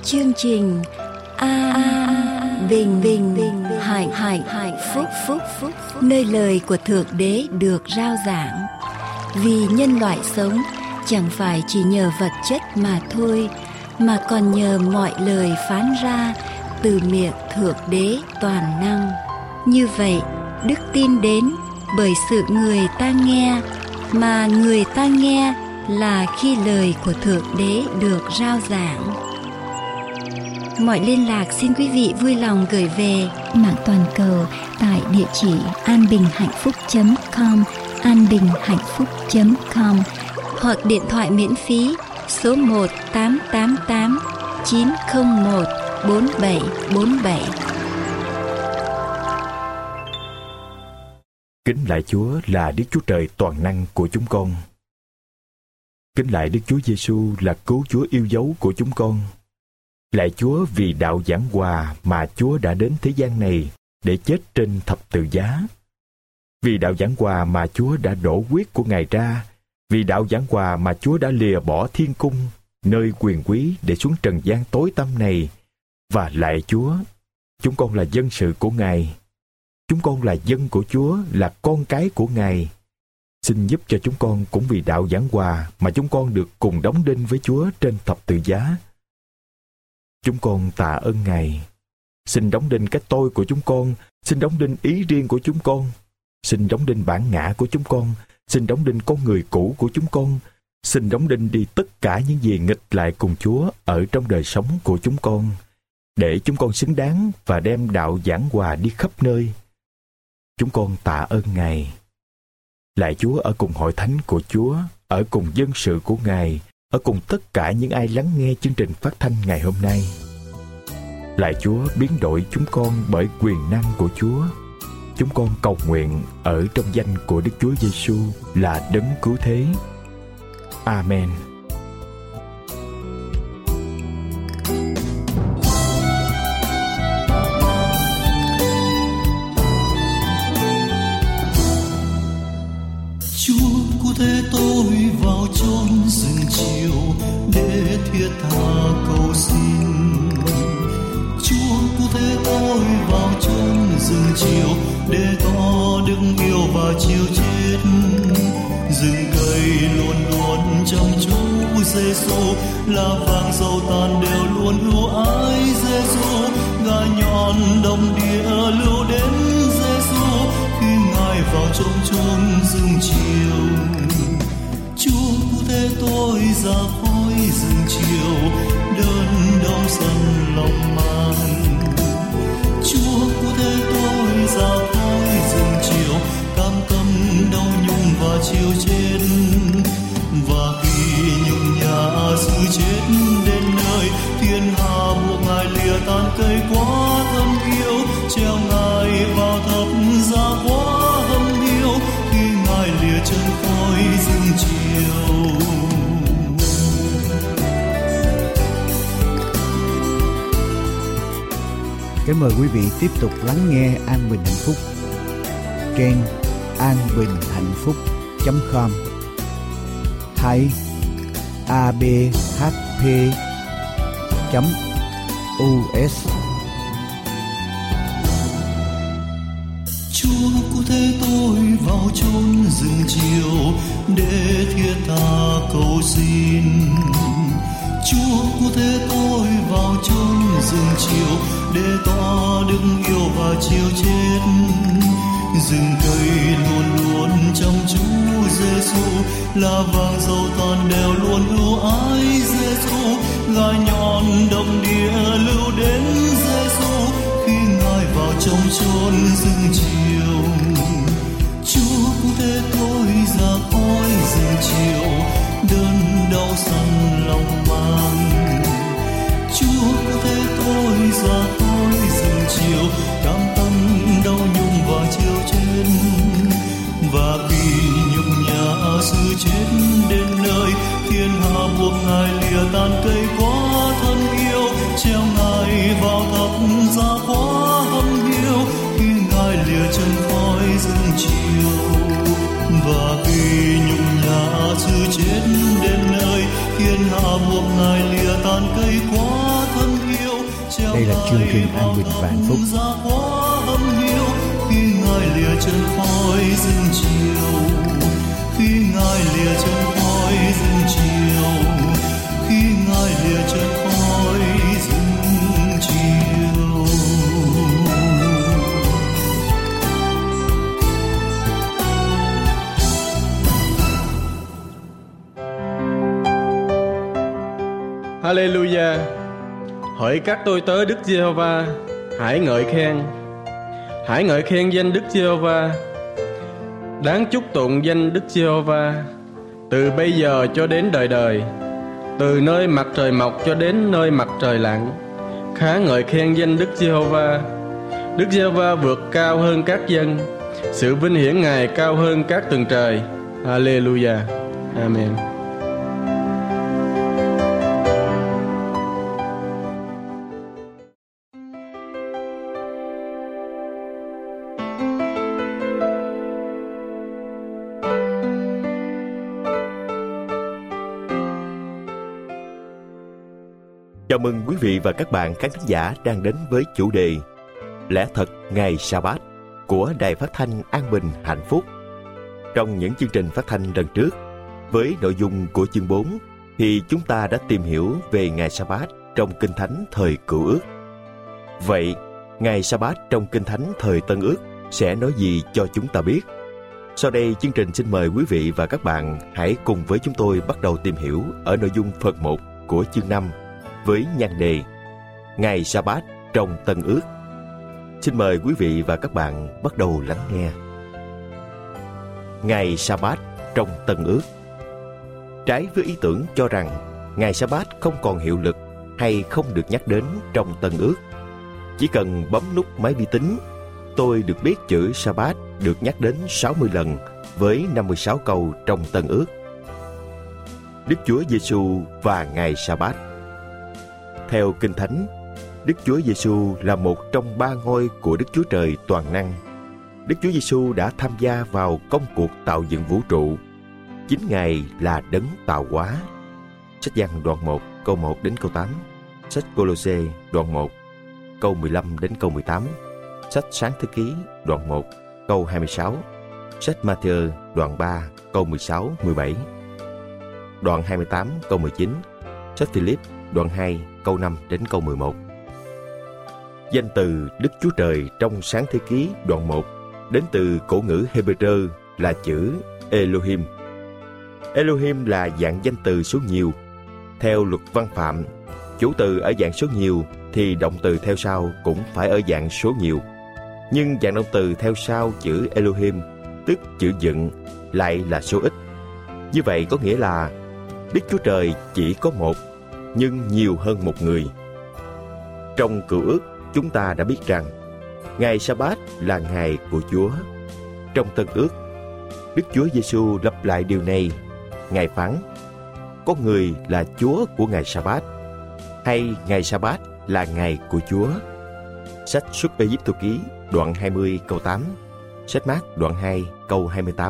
chương trình Bình Bình Hạnh Phúc, nơi lời của Thượng Đế được rao giảng. Vì nhân loại sống chẳng phải chỉ nhờ vật chất mà thôi, mà còn nhờ mọi lời phán ra từ miệng Thượng Đế toàn năng. Như vậy, đức tin đến bởi sự người ta nghe, mà người ta nghe là khi lời của Thượng Đế được rao giảng. Mọi liên lạc xin quý vị vui lòng gửi về mạng toàn cầu tại địa chỉ anbinhhạnhphúc.com, anbinhhạnhphúc.com, hoặc điện thoại miễn phí số 1-888-901-4747. Kính lạy Chúa là Đức Chúa Trời toàn năng của chúng con. Kính lạy Đức Chúa Giêsu là cứu Chúa yêu dấu của chúng con. Lạy Chúa vì đạo giảng hòa mà Chúa đã đến thế gian này để chết trên thập tự giá. Vì đạo giảng hòa mà Chúa đã đổ huyết của Ngài ra. Vì đạo giảng hòa mà Chúa đã lìa bỏ thiên cung, nơi quyền quý để xuống trần gian tối tăm này. Và lạy Chúa, chúng con là dân sự của Ngài. Chúng con là dân của Chúa, là con cái của Ngài. Xin giúp cho chúng con cũng vì đạo giảng hòa mà chúng con được cùng đóng đinh với Chúa trên thập tự giá. Chúng con tạ ơn Ngài. Xin đóng đinh cái tôi của chúng con, xin đóng đinh ý riêng của chúng con, xin đóng đinh bản ngã của chúng con, xin đóng đinh con người cũ của chúng con, xin đóng đinh đi tất cả những gì nghịch lại cùng Chúa ở trong đời sống của chúng con, để chúng con xứng đáng và đem đạo giảng hòa đi khắp nơi. Chúng con tạ ơn Ngài. Lạy Chúa ở cùng hội thánh của Chúa, ở cùng dân sự của Ngài, ở cùng tất cả những ai lắng nghe chương trình phát thanh ngày hôm nay. Lạy Chúa biến đổi chúng con bởi quyền năng của Chúa. Chúng con cầu nguyện ở trong danh của Đức Chúa Giêsu là Đấng Cứu Thế. Amen. Thế tôi vào chốn rừng chiều để thiết tha cầu xin. Chúa cứu thế tôi vào chốn rừng chiều để tỏ đức yêu và chiều chết. Rừng cây luôn luôn trong Chúa Giêsu, là vàng dầu tàn đều luôn ưu ái Giêsu. Gà nhọn đồng địa lưu đến Giêsu khi Ngài vào trong chốn rừng chiều. Chúa cứu thế tôi ra khỏi rừng chiều, đơn đau dần lòng mang. Chúa cứu thế tôi ra khỏi rừng chiều, cam tâm đau nhung và chiều chết. Và khi nhung nhã sự chết đến nơi, thiên hà buộc Ngài lìa tàn cây quá thân yêu, treo Ngài vào thập giá quá hâm hiu khi Ngài lìa chân khỏi rừng chiều. Kính mời quý vị tiếp tục lắng nghe An Bình Hạnh Phúc trên anbinhhạnhphúc.com hay abhp.us. Chúa cứu thế tôi vào chốn rừng chiều để thiết tha cầu xin. Chúa cứu thế tôi vào chốn rừng chiều để tỏ đức yêu và chiều chết. Rừng cây luôn luôn trong Chúa Giêsu, là vàng dầu tàn đều luôn ưu ái Giêsu. Gà nhọn đồng địa lưu đến Giêsu khi Ngài vào trong chốn rừng chiều. Chúa cứu thế tôi ra khỏi rừng chiều, đơn đau dần lòng mang. Chúa cứu thế tôi ra khỏi rừng chiều, cam tâm đau nhung và chiều chết. Và khi nhục nhã sự chết đến nơi, thiên hà buộc Ngài lìa tàn cây quá thân yêu, treo Ngài vào thập giá quá hâm hiu khi Ngài lìa chân khỏi rừng chiều. Và khi nhục nhã sự chết đến nơi, thiên chương trình An Bình và Hạnh Phúc. Khi Ngài lìa chân khói rừng chiều, khi Ngài lìa chân khói rừng chiều, khi Ngài lìa chân khói rừng chiều. Hallelujah. Hỡi các tôi tớ Đức Giê-hô-va, hãy ngợi khen danh Đức Giê-hô-va. Đáng chúc tụng danh Đức Giê-hô-va từ bây giờ cho đến đời đời, từ nơi mặt trời mọc cho đến nơi mặt trời lặn. Khá ngợi khen danh Đức Giê-hô-va. Đức Giê-hô-va vượt cao hơn các dân, sự vinh hiển Ngài cao hơn các tầng trời. Hallelujah. Amen. Chào mừng quý vị và các bạn khán thính giả đang đến với chủ đề Lẽ thật ngày Sa-bát của Đài Phát thanh An Bình Hạnh Phúc. Trong những chương trình phát thanh lần trước, với nội dung của chương 4 thì chúng ta đã tìm hiểu về ngày Sa-bát trong Kinh Thánh thời Cựu Ước. Vậy, ngày Sa-bát trong Kinh Thánh thời Tân Ước sẽ nói gì cho chúng ta biết? Sau đây, chương trình xin mời quý vị và các bạn hãy cùng với chúng tôi bắt đầu tìm hiểu ở nội dung phần 1 của chương 5 với nhan đề Ngày Sa-bát trong Tân Ước. Xin mời quý vị và các bạn bắt đầu lắng nghe. Ngày Sa-bát trong Tân Ước. Trái với ý tưởng cho rằng ngày Sa-bát không còn hiệu lực hay không được nhắc đến trong Tân Ước, chỉ cần bấm nút máy vi tính, tôi được biết chữ Sa-bát được nhắc đến 60 lần với 56 câu trong Tân Ước. Đức Chúa Giê-xu và ngày Sa-bát. Theo Kinh Thánh, Đức Chúa Giê-xu là một trong 3 ngôi của Đức Chúa Trời toàn năng. Đức Chúa Giê-xu đã tham gia vào công cuộc tạo dựng vũ trụ. Chính Ngài là đấng tạo hóa. Sách Giăng đoạn 1 câu 1 đến câu 8, sách Cô-lô-sê đoạn 1 câu 15 đến câu 18, sách Sáng Thế Ký đoạn 1 câu 26, sách Ma-thi-ơ đoạn 3 câu 16, 17, đoạn 28 câu 19, sách Phi-líp đoạn 2 câu 5 đến câu 11. Danh từ Đức Chúa Trời trong Sáng Thế Ký đoạn 1 đến từ cổ ngữ Hebrew là chữ Elohim. Elohim là dạng danh từ số nhiều. Theo luật văn phạm, chủ từ ở dạng số nhiều thì động từ theo sau cũng phải ở dạng số nhiều. Nhưng dạng động từ theo sau chữ Elohim, tức chữ dựng, lại là số ít. Như vậy có nghĩa là Đức Chúa Trời chỉ có một, nhưng nhiều hơn một người. Trong Cựu Ước, chúng ta đã biết rằng ngày Sa-bát là ngày của Chúa. Trong Tân Ước, Đức Chúa Giê-xu lặp lại điều này. Ngài phán: có người là Chúa của ngày Sa-bát, hay ngày Sa-bát là ngày của Chúa. Sách Xuất Ê-díp-tô ký đoạn 20 câu 8, sách Mác đoạn 2 câu 28.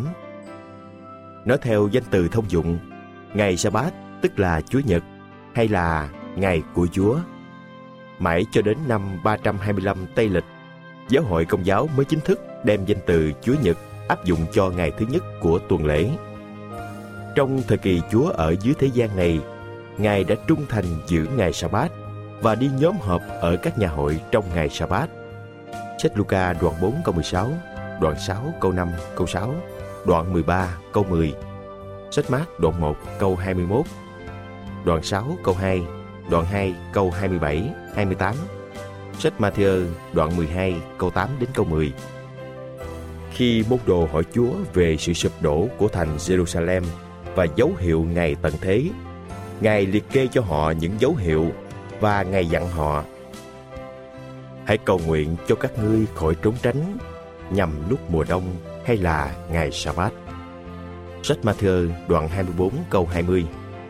Nói theo danh từ thông dụng, ngày Sa-bát tức là Chúa Nhật hay là ngày của Chúa. Mãi cho đến năm 325 Tây Lịch, Giáo hội Công giáo mới chính thức đem danh từ Chúa Nhật áp dụng cho ngày thứ nhất của tuần lễ. Trong thời kỳ Chúa ở dưới thế gian này, Ngài đã trung thành giữ ngày Sa-bát và đi nhóm họp ở các nhà hội trong ngày Sa-bát. Sách Luca đoạn 4 câu 16, đoạn 6 câu 5 câu 6, đoạn 13 câu 10, sách Mác đoạn 1 câu 21, đoạn 6 câu 2, đoạn 2 câu 27, 28, sách Ma-thi-ơ đoạn 12 câu 8 đến câu 10. Khi môn đồ hỏi Chúa về sự sụp đổ của thành Jerusalem và dấu hiệu ngày tận thế, Ngài liệt kê cho họ những dấu hiệu và Ngài dặn họ: hãy cầu nguyện cho các ngươi khỏi trốn tránh nhằm lúc mùa đông hay là ngày Sa-bát. Sách Ma-thi-ơ đoạn 24 câu 20.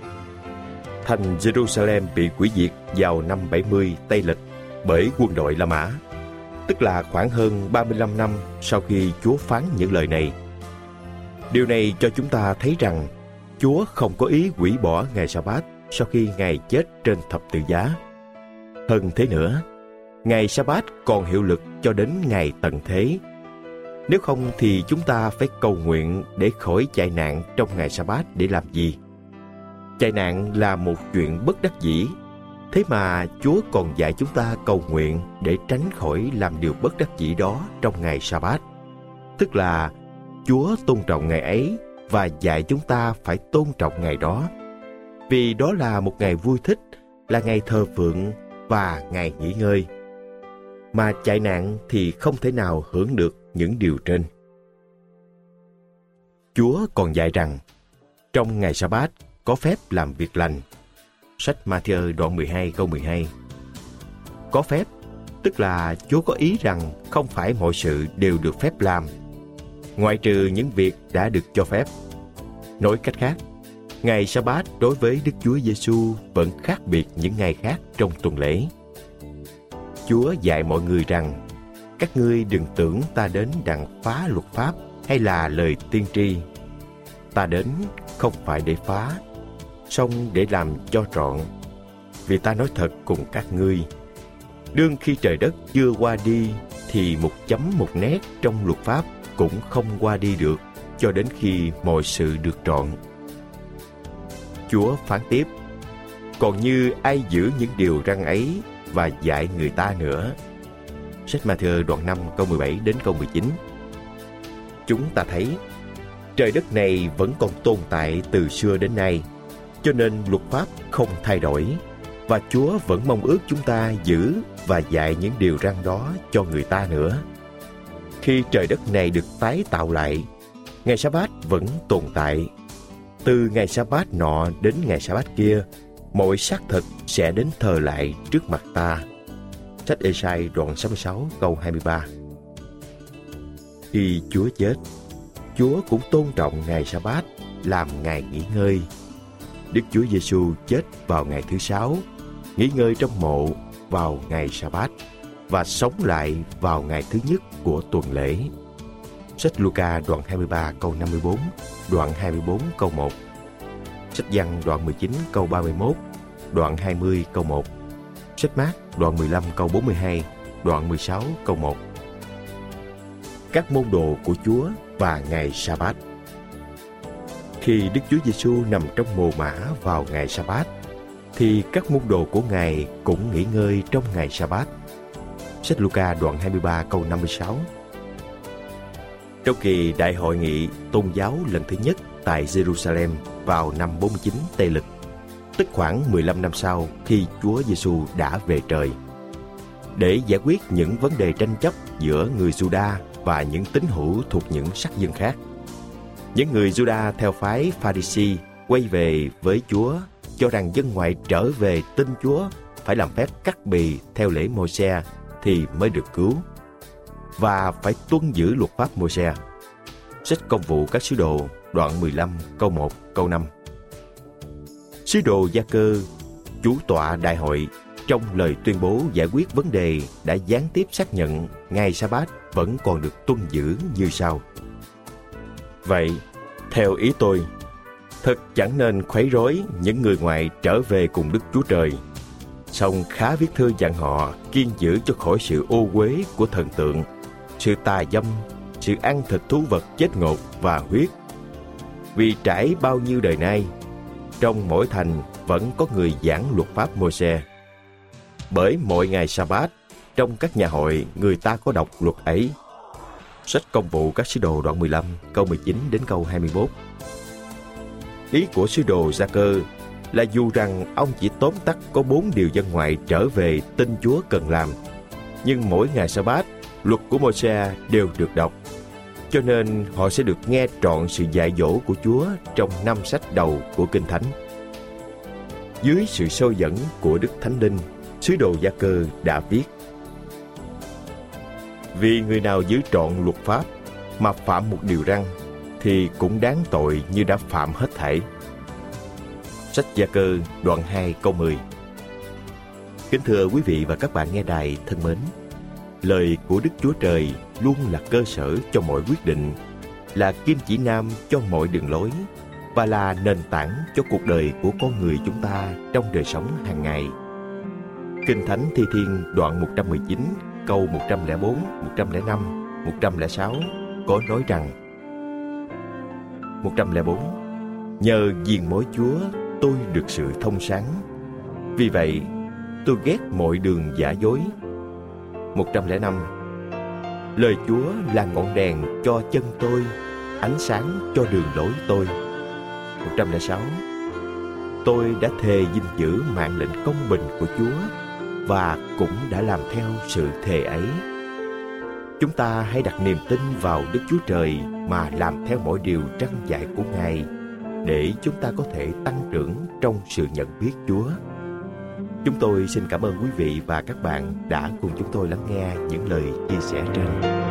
Thành Jerusalem bị hủy diệt vào năm 70 Tây Lịch bởi quân đội La Mã, tức là khoảng hơn 35 năm sau khi Chúa phán những lời này. Điều này cho chúng ta thấy rằng Chúa không có ý hủy bỏ ngày Sa-bát sau khi Ngài chết trên thập tự giá. Hơn thế nữa, ngày Sa-bát còn hiệu lực cho đến ngày tận thế. Nếu không thì chúng ta phải cầu nguyện để khỏi chạy nạn trong ngày Sa-bát để làm gì? Chạy nạn là một chuyện bất đắc dĩ. Thế mà Chúa còn dạy chúng ta cầu nguyện để tránh khỏi làm điều bất đắc dĩ đó trong ngày Sa-bát. Tức là Chúa tôn trọng ngày ấy và dạy chúng ta phải tôn trọng ngày đó. Vì đó là một ngày vui thích, là ngày thờ phượng và ngày nghỉ ngơi. Mà chạy nạn thì không thể nào hưởng được những điều trên. Chúa còn dạy rằng trong ngày Sa-bát có phép làm việc lành. Sách Ma-thi-ơ đoạn 12 câu 12. Có phép, tức là Chúa có ý rằng không phải mọi sự đều được phép làm, ngoại trừ những việc đã được cho phép. Nói cách khác, ngày Sa-bát đối với Đức Chúa Giêsu vẫn khác biệt những ngày khác trong tuần lễ. Chúa dạy mọi người rằng, các ngươi đừng tưởng ta đến đặng phá luật pháp hay là lời tiên tri. Ta đến không phải để phá, song để làm cho trọn. Vì ta nói thật cùng các ngươi, đương khi trời đất chưa qua đi, thì một chấm một nét trong luật pháp cũng không qua đi được, cho đến khi mọi sự được trọn. Chúa phán tiếp, còn như ai giữ những điều răn ấy và dạy người ta nữa. Sách Ma-thi-ơ đoạn 5 câu 17 đến câu 19. Chúng ta thấy trời đất này vẫn còn tồn tại từ xưa đến nay, cho nên luật pháp không thay đổi, và Chúa vẫn mong ước chúng ta giữ và dạy những điều răn đó cho người ta nữa. Khi trời đất này được tái tạo lại, ngày Sa-bát vẫn tồn tại. Từ ngày Sa-bát nọ đến ngày Sa-bát kia, mọi xác thịt sẽ đến thờ lại trước mặt ta. Sách Ê-sai đoạn 66 câu 23. Khi Chúa chết, Chúa cũng tôn trọng ngày Sa-bát làm ngày nghỉ ngơi. Đức Chúa Giêsu chết vào ngày thứ 6, nghỉ ngơi trong mộ vào ngày Sa-bát và sống lại vào ngày thứ nhất của tuần lễ. Sách Luca đoạn 23 câu 54, đoạn 24 câu 1. Sách Giăng đoạn 19 câu 31, đoạn 20 câu 1. Sách Mác đoạn 15 câu 42, đoạn 16 câu 1. Các môn đồ của Chúa và ngày Sa-bát. Khi Đức Chúa Giêsu nằm trong mồ mả vào ngày Sa-bát, thì các môn đồ của Ngài cũng nghỉ ngơi trong ngày Sa-bát. Sách Luca đoạn 23 câu 56. Trong kỳ đại hội nghị tôn giáo lần thứ nhất tại Jerusalem vào năm 49 Tây Lịch, tức khoảng 15 năm sau khi Chúa Giêsu đã về trời, để giải quyết những vấn đề tranh chấp giữa người Giu-đa và những tín hữu thuộc những sắc dân khác. Những người Giu-đa theo phái Pha-ri-si quay về với Chúa, cho rằng dân ngoại trở về tin Chúa phải làm phép cắt bì theo lễ Môi-se thì mới được cứu, và phải tuân giữ luật pháp Môi-se. Sách Công vụ các sứ đồ đoạn 15 câu 1 câu 5. Sứ đồ Gia-cơ, chủ tọa đại hội, trong lời tuyên bố giải quyết vấn đề đã gián tiếp xác nhận ngày Sa-bát vẫn còn được tuân giữ như sau. Vậy, theo ý tôi, thật chẳng nên khuấy rối những người ngoại trở về cùng Đức Chúa Trời. Song khá viết thư dặn họ kiêng giữ cho khỏi sự ô uế của thần tượng, sự tà dâm, sự ăn thịt thú vật chết ngột và huyết. Vì trải bao nhiêu đời nay, trong mỗi thành vẫn có người giảng luật pháp Môi-se. Bởi mỗi ngày Sa-bát, trong các nhà hội người ta có đọc luật ấy. Sách Công vụ các sứ đồ đoạn 15 câu 19 đến câu 21. Ý của sứ đồ Gia-cơ là dù rằng ông chỉ tóm tắt có 4 điều dân ngoại trở về tin Chúa cần làm, nhưng mỗi ngày Sa-bát, luật của Môi-se đều được đọc, cho nên họ sẽ được nghe trọn sự dạy dỗ của Chúa trong 5 sách đầu của Kinh Thánh. Dưới sự soi dẫn của Đức Thánh Linh, sứ đồ Gia-cơ đã viết: Vì người nào giữ trọn luật pháp mà phạm một điều răn, thì cũng đáng tội như đã phạm hết thảy. Sách Gia-cơ đoạn 2 câu 10. Kính thưa quý vị và các bạn nghe đài thân mến, lời của Đức Chúa Trời luôn là cơ sở cho mọi quyết định, là kim chỉ nam cho mọi đường lối và là nền tảng cho cuộc đời của con người chúng ta trong đời sống hàng ngày. Kinh Thánh Thi Thiên đoạn 119 câu 104, 105, 106 có nói rằng: 104. Nhờ viền mối Chúa tôi được sự thông sáng, vì vậy tôi ghét mọi đường giả dối. 105. Lời Chúa là ngọn đèn cho chân tôi, ánh sáng cho đường lối tôi. 106. Tôi đã thề gìn giữ mạng lệnh công bình của Chúa và cũng đã làm theo sự thề ấy. Chúng ta hãy đặt niềm tin vào Đức Chúa Trời mà làm theo mọi điều răn dạy của Ngài, để chúng ta có thể tăng trưởng trong sự nhận biết Chúa. Chúng tôi xin cảm ơn quý vị và các bạn đã cùng chúng tôi lắng nghe những lời chia sẻ trên.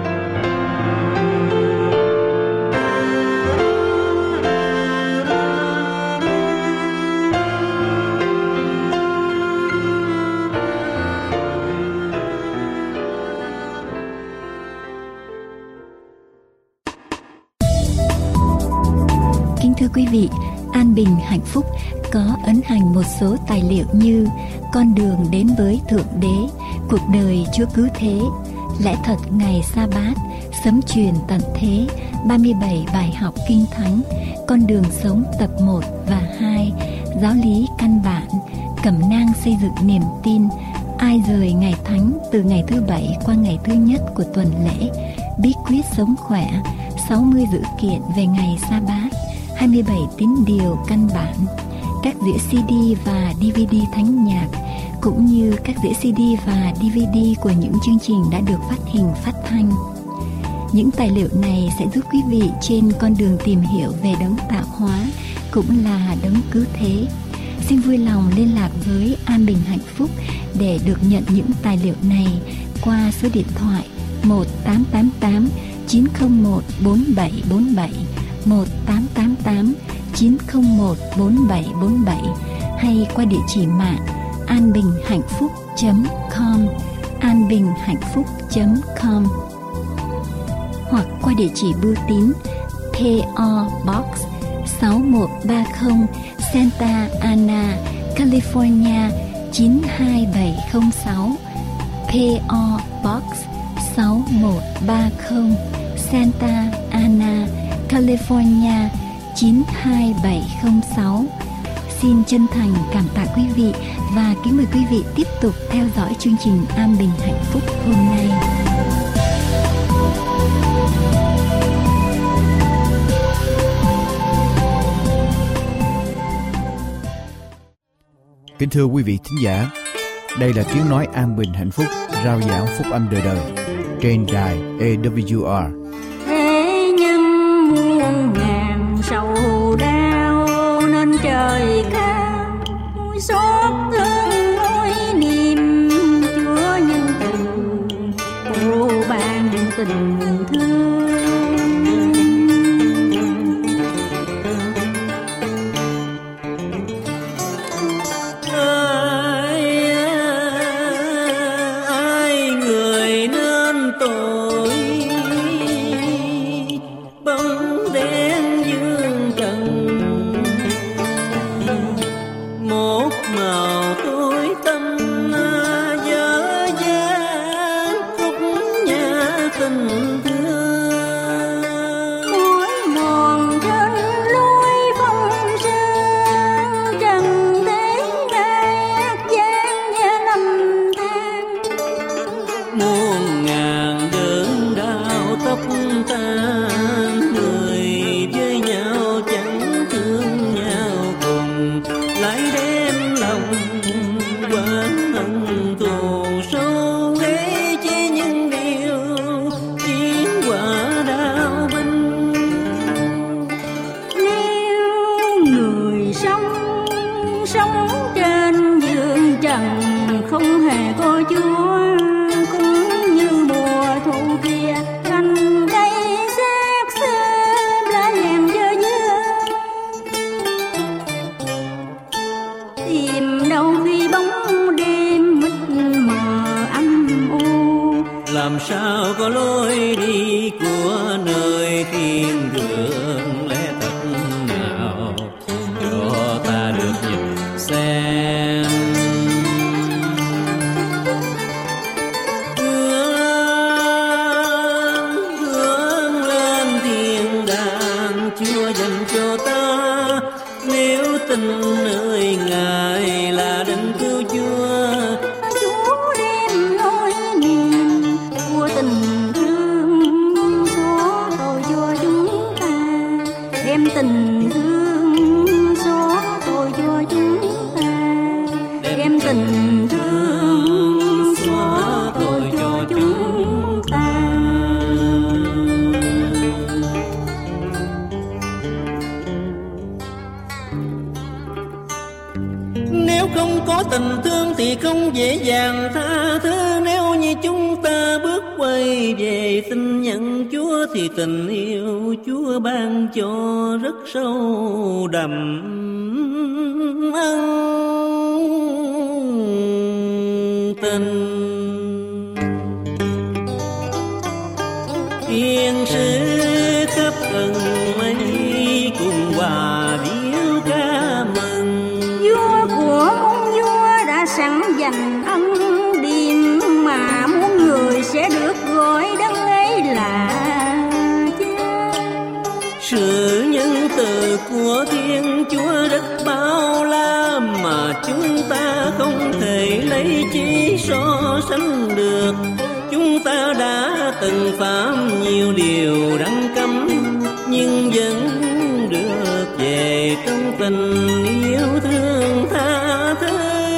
Kính thưa quý vị, An Bình Hạnh Phúc có ấn hành một số tài liệu như Con đường đến với Thượng Đế, Cuộc đời Chúa Cứu Thế, Lẽ thật ngày Sa Bát, Sấm truyền tận thế, 37 bài học Kinh Thánh, Con đường sống tập 1 và 2, Giáo lý căn bản, Cẩm nang xây dựng niềm tin, Ai rời ngày thánh từ ngày thứ Bảy qua ngày thứ Nhất của tuần lễ, Bí quyết sống khỏe, 60 dữ kiện về ngày Sa Bát, 27 tín điều căn bản, các đĩa CD và DVD thánh nhạc, cũng như các đĩa CD và DVD của những chương trình đã được phát hình phát thanh. Những tài liệu này sẽ giúp quý vị trên con đường tìm hiểu về đấng tạo hóa, cũng là đấng cứu thế. Xin vui lòng liên lạc với An Bình Hạnh Phúc để được nhận những tài liệu này qua số điện thoại 1888 901 4747, 1888 901 4747, hay qua địa chỉ mạng anbinhhạnhphúc.com, anbinhhạnhphúc.com, hoặc qua địa chỉ bưu tín PO Box 6130, Santa Ana, California 92706, PO Box 6130, Santa Ana, California 92706. Xin chân thành cảm tạ quý vị và kính mời quý vị tiếp tục theo dõi chương trình An Bình Hạnh Phúc hôm nay. Kính thưa quý vị thính giả, đây là tiếng nói An Bình Hạnh Phúc, rao giảng phúc âm đời đời trên đài AWR. Thế nhưng muôn ngàn sầu đau nên trời cao xót thương nỗi niềm Chúa nhân từ ô ban tình thương. Làm sao có lối đi của nơi thiên đường, lẽ thật nào cho ta được nhìn xem. có tình thương thì không dễ dàng tha thứ. Nếu như chúng ta bước quay về xin nhận Chúa thì tình yêu Chúa ban cho rất sâu đậm ân tình. Thiên sứ khắp ân mây cùng hòa điệu ca mừng. Vua của muôn vua đã sẵn dành ân điềm, mà muôn người sẽ được gọi đấng ấy là Cha. Sự nhân từ của Thiên Chúa rất bao la, mà chúng ta không thể lấy chi so sánh được. Chúng ta đã từng phạm nhiều điều đáng cấm, nhưng vẫn được về trong tình yêu thương tha thứ.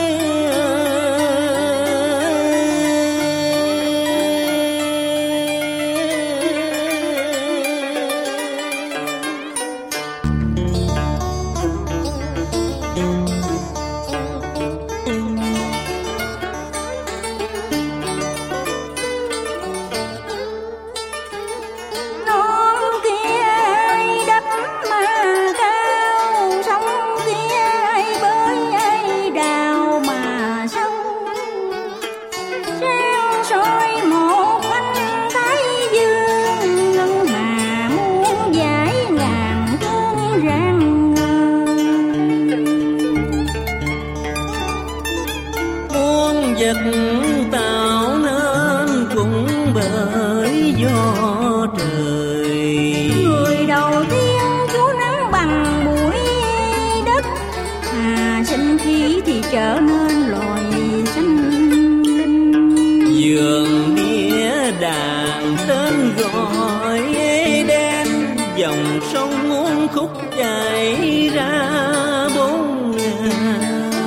Tạo nên cũng bởi do trời. Người đầu tiên Chúa nắng bằng bụi đất, sinh khí thì trở nên loài sinh linh. Vườn đĩa đàn tên gọi Eden, dòng sông muôn khúc chảy ra bốn ngàn.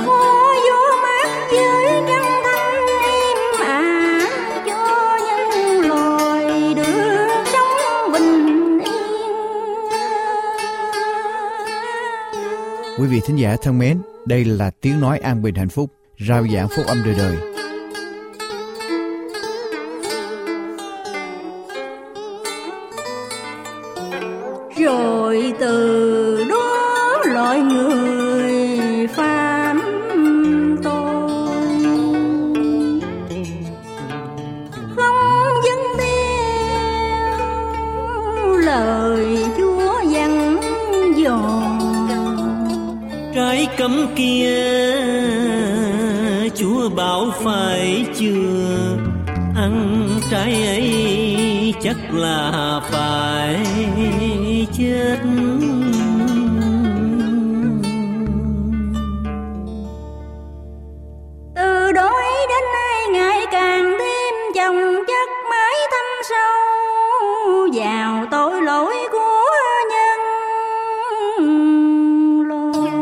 Quý vị thính giả thân mến, đây là tiếng nói an bình hạnh phúc, rao giảng phúc âm đời đời. Rồi từ đó loại người phạm tội, không dâng theo lời Chúa dặn dò. Trái cấm kia Chúa bảo phải chưa, ăn trái ấy chắc là phải chết. Từ đó đến nay ngày càng thêm chồng chất, mãi thâm sâu vào tội lỗi của nhân loại.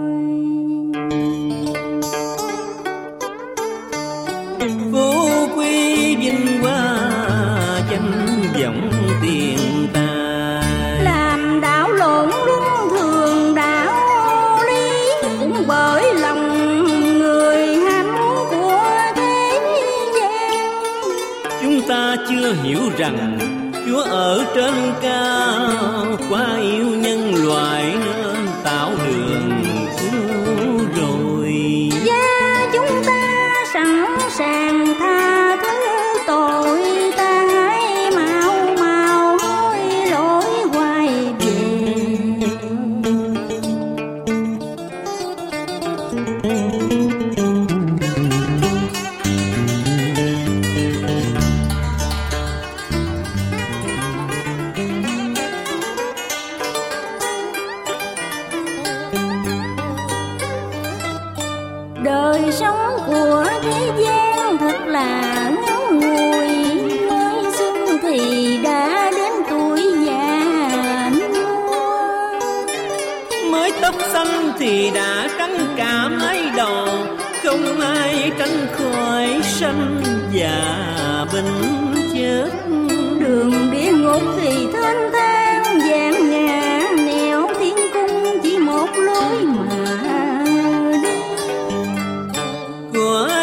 Phú quý vinh hoa danh vọng tiền tài, làm đảo lộn luân thường đạo lý, cũng bởi lòng người ham muốn của thế gian. chúng ta chưa hiểu rằng Chúa ở trên cao, quá yêu nhân loại nên tạo đường cứu rồi. Và chúng ta sẵn sàng tha thứ tội ta, hãy mau mau hối lỗi quay về. Đời sống của thế gian thật là ngắn ngủi, mới xuân thì đã đến tuổi già nua. Mới tóc xanh thì đã trắng cả mái đầu, không ai tránh khỏi sanh già bệnh chết. Đường địa ngục thì thênh thang vàng ngà, nẻo thiên cung chỉ một lối mà đi.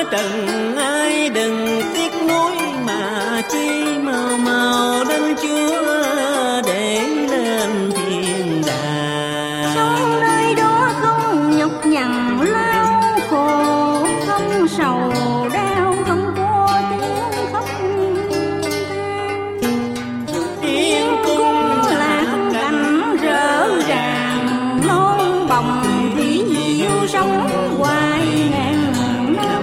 trần ai đừng tiếc nuối, mà chi mau mau đến Chúa để lên thiên đàng. Sống nơi đó không nhọc nhằn lao khổ, không sầu đau, không có tiếng khóc than. Tiên cung lạc cảnh rỡ ràng, non bồng thủy diệu sống hoài ngàn năm.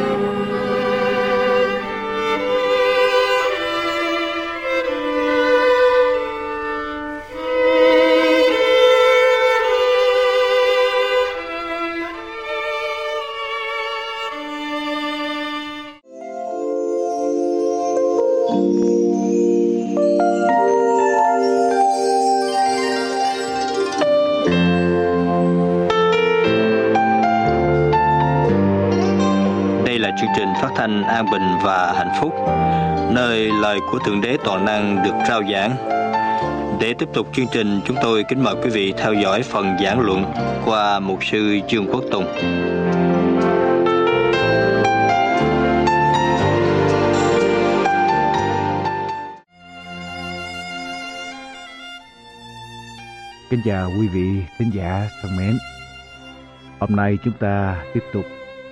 Đây là chương trình phát thanh an bình và hạnh phúc, nơi lời của Thượng Đế toàn năng được rao giảng. Để tiếp tục chương trình, chúng tôi kính mời quý vị theo dõi phần giảng luận qua mục sư Dương Quốc Tùng. Kính chào quý vị khán giả thân mến. Hôm nay chúng ta tiếp tục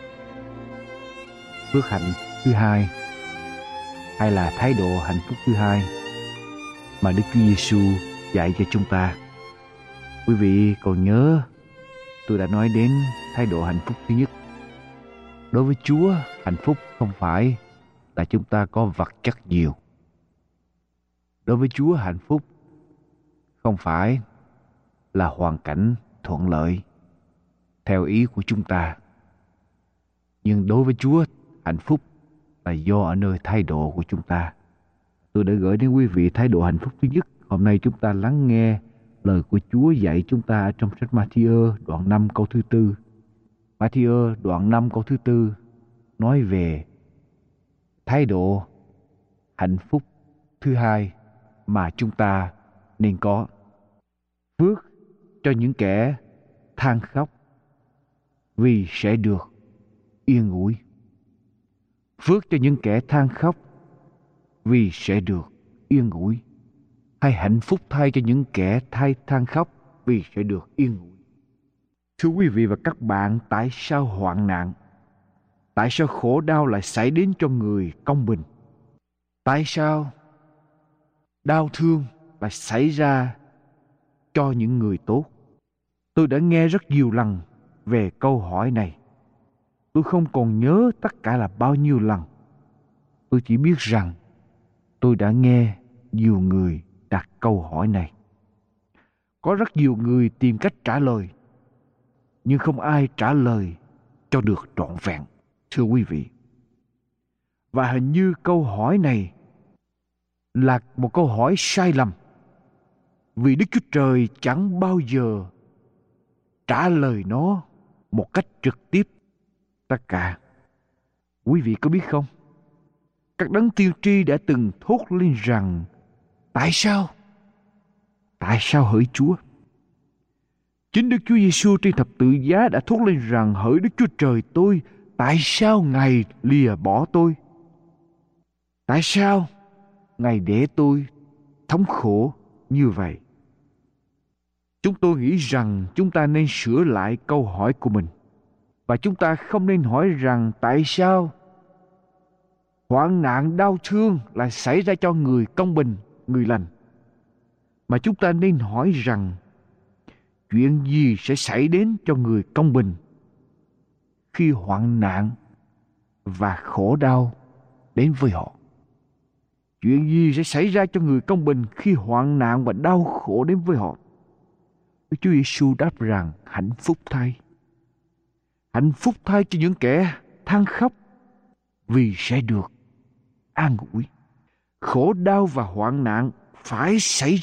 phước hạnh thứ hai, hay là thái độ hạnh phúc thứ hai mà Đức Chúa Giêsu dạy cho chúng ta. Quý vị còn nhớ tôi đã nói đến thái độ hạnh phúc thứ nhất. Đối với Chúa, hạnh phúc không phải là chúng ta có vật chất nhiều. Đối với Chúa, hạnh phúc không phải là hoàn cảnh thuận lợi theo ý của chúng ta. Nhưng đối với Chúa, hạnh phúc là do ở nơi thái độ của chúng ta. Tôi đã gửi đến quý vị thái độ hạnh phúc thứ nhất. Hôm nay chúng ta lắng nghe lời của Chúa dạy chúng ta trong sách Ma-thi-ơ đoạn 5 câu thứ 4. Ma-thi-ơ đoạn 5 câu thứ 4 nói về thái độ hạnh phúc thứ hai mà chúng ta nên có. Phước cho những kẻ than khóc, vì sẽ được yên ủi. Phước cho những kẻ than khóc, vì sẽ được yên ủi. Hay hạnh phúc thay cho những kẻ than khóc, vì sẽ được yên ủi. Thưa quý vị và các bạn, tại sao hoạn nạn, tại sao khổ đau lại xảy đến cho người công bình? Tại sao đau thương lại xảy ra cho những người tốt? Tôi đã nghe rất nhiều lần về câu hỏi này. Tôi không còn nhớ tất cả là bao nhiêu lần. Tôi chỉ biết rằng tôi đã nghe nhiều người đặt câu hỏi này. Có rất nhiều người tìm cách trả lời, nhưng không ai trả lời cho được trọn vẹn, thưa quý vị. Và hình như câu hỏi này là một câu hỏi sai lầm, vì Đức Chúa Trời chẳng bao giờ trả lời nó một cách trực tiếp tất cả. Quý vị có biết không? Các đấng tiên tri đã từng thốt lên rằng: tại sao? Tại sao hỡi Chúa? Chính Đức Chúa Giêsu trên thập tự giá đã thốt lên rằng: hỡi Đức Chúa Trời tôi, tại sao Ngài lìa bỏ tôi? Tại sao Ngài để tôi thống khổ như vậy? Chúng tôi nghĩ rằng chúng ta nên sửa lại câu hỏi của mình. Và chúng ta không nên hỏi rằng tại sao hoạn nạn đau thương lại xảy ra cho người công bình, người lành. Mà chúng ta nên hỏi rằng chuyện gì sẽ xảy đến cho người công bình khi hoạn nạn và khổ đau đến với họ? Chuyện gì sẽ xảy ra cho người công bình khi hoạn nạn và đau khổ đến với họ? Đức Chúa Giêsu đáp rằng hạnh phúc thay. Hạnh phúc thay cho những kẻ than khóc, vì sẽ được an ủi. Khổ đau và hoạn nạn phải xảy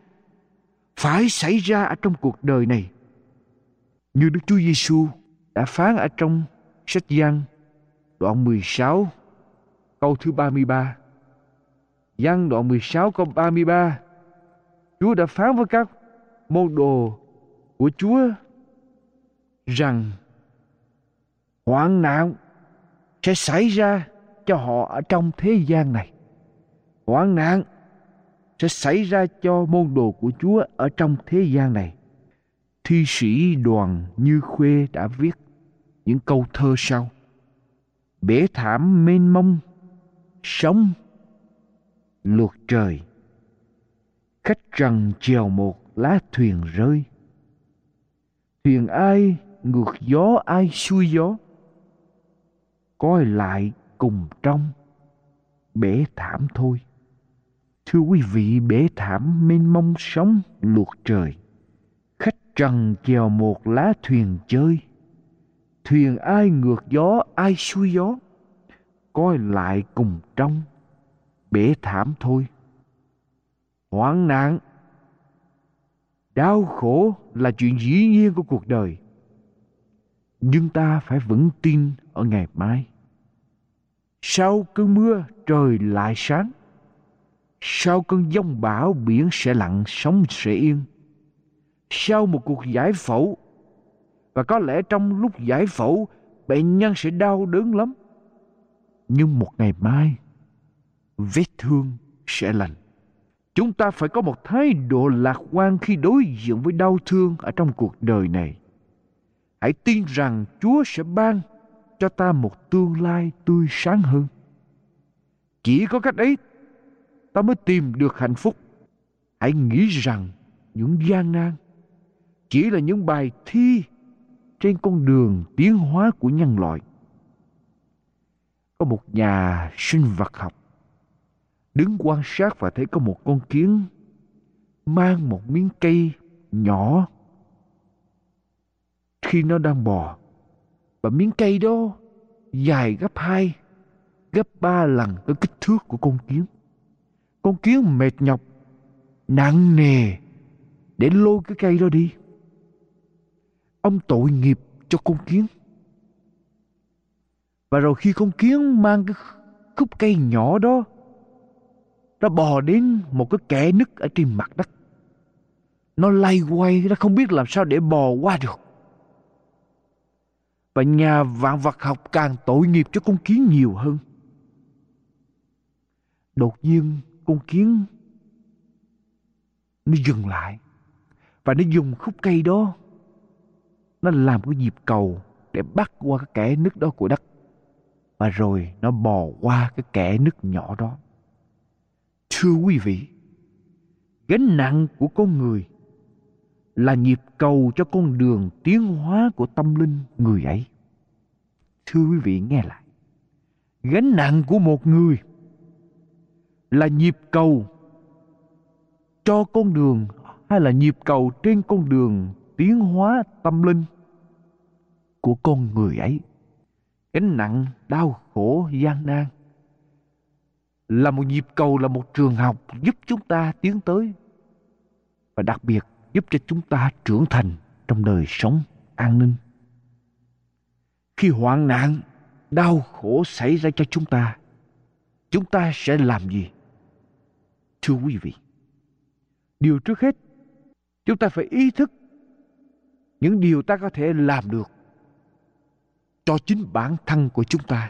ra ở trong cuộc đời này. Như Đức Chúa Giêsu đã phán ở trong sách Giăng đoạn 16 câu thứ 33. Giăng đoạn 16 câu 33. Chúa đã phán với các môn đồ của Chúa rằng hoạn nạn sẽ xảy ra cho họ ở trong thế gian này. Hoạn nạn sẽ xảy ra cho môn đồ của Chúa ở trong thế gian này. Thi sĩ Đoàn Như Khuê đã viết những câu thơ sau: bể thảm mênh mông, sóng lượt trời, khách trần chèo một lá thuyền rơi. Thuyền ai ngược gió ai xuôi gió, coi lại cùng trong bể thảm thôi. Thưa quý vị, bể thảm mênh mông sóng lượt trời, khách trần chèo một lá thuyền chơi. Thuyền ai ngược gió ai xuôi gió, coi lại cùng trong bể thảm thôi. Hoạn nạn, đau khổ là chuyện dĩ nhiên của cuộc đời, nhưng ta phải vững tin ở ngày mai. Sau cơn mưa trời lại sáng, sau cơn giông bão biển sẽ lặng sóng sẽ yên. Sau một cuộc giải phẫu, và có lẽ trong lúc giải phẫu bệnh nhân sẽ đau đớn lắm, nhưng một ngày mai vết thương sẽ lành. Chúng ta phải có một thái độ lạc quan khi đối diện với đau thương ở trong cuộc đời này. Hãy tin rằng Chúa sẽ ban cho ta một tương lai tươi sáng hơn. Chỉ có cách ấy ta mới tìm được hạnh phúc. Hãy nghĩ rằng những gian nan chỉ là những bài thi trên con đường tiến hóa của nhân loại. Có một nhà sinh vật học đứng quan sát và thấy có một con kiến mang một miếng cây nhỏ khi nó đang bò, và miếng cây đó dài gấp 2, gấp 3 lần cái kích thước của con kiến. Con kiến mệt nhọc, nặng nề để lôi cái cây đó đi. Ông tội nghiệp cho con kiến. Và rồi khi con kiến mang cái khúc cây nhỏ đó, nó bò đến một cái kẽ nứt ở trên mặt đất. Nó lay quay, nó không biết làm sao để bò qua được. Và nhà vạn vật học càng tội nghiệp cho con kiến nhiều hơn. Đột nhiên con kiến nó dừng lại, và nó dùng khúc cây đó, nó làm cái nhịp cầu để bắt qua cái kẽ nứt đó của đất. Và rồi nó bò qua cái kẽ nứt nhỏ đó. Thưa quý vị, gánh nặng của con người là nhịp cầu cho con đường tiến hóa của tâm linh người ấy. Thưa quý vị nghe lại, gánh nặng của một người là nhịp cầu cho con đường, hay là nhịp cầu trên con đường tiến hóa tâm linh của con người ấy. Gánh nặng, đau khổ, gian nan là một nhịp cầu, là một trường học giúp chúng ta tiến tới, và đặc biệt giúp cho chúng ta trưởng thành trong đời sống an ninh. Khi hoạn nạn, đau khổ xảy ra cho chúng ta sẽ làm gì? Thưa quý vị, điều trước hết, chúng ta phải ý thức những điều ta có thể làm được cho chính bản thân của chúng ta.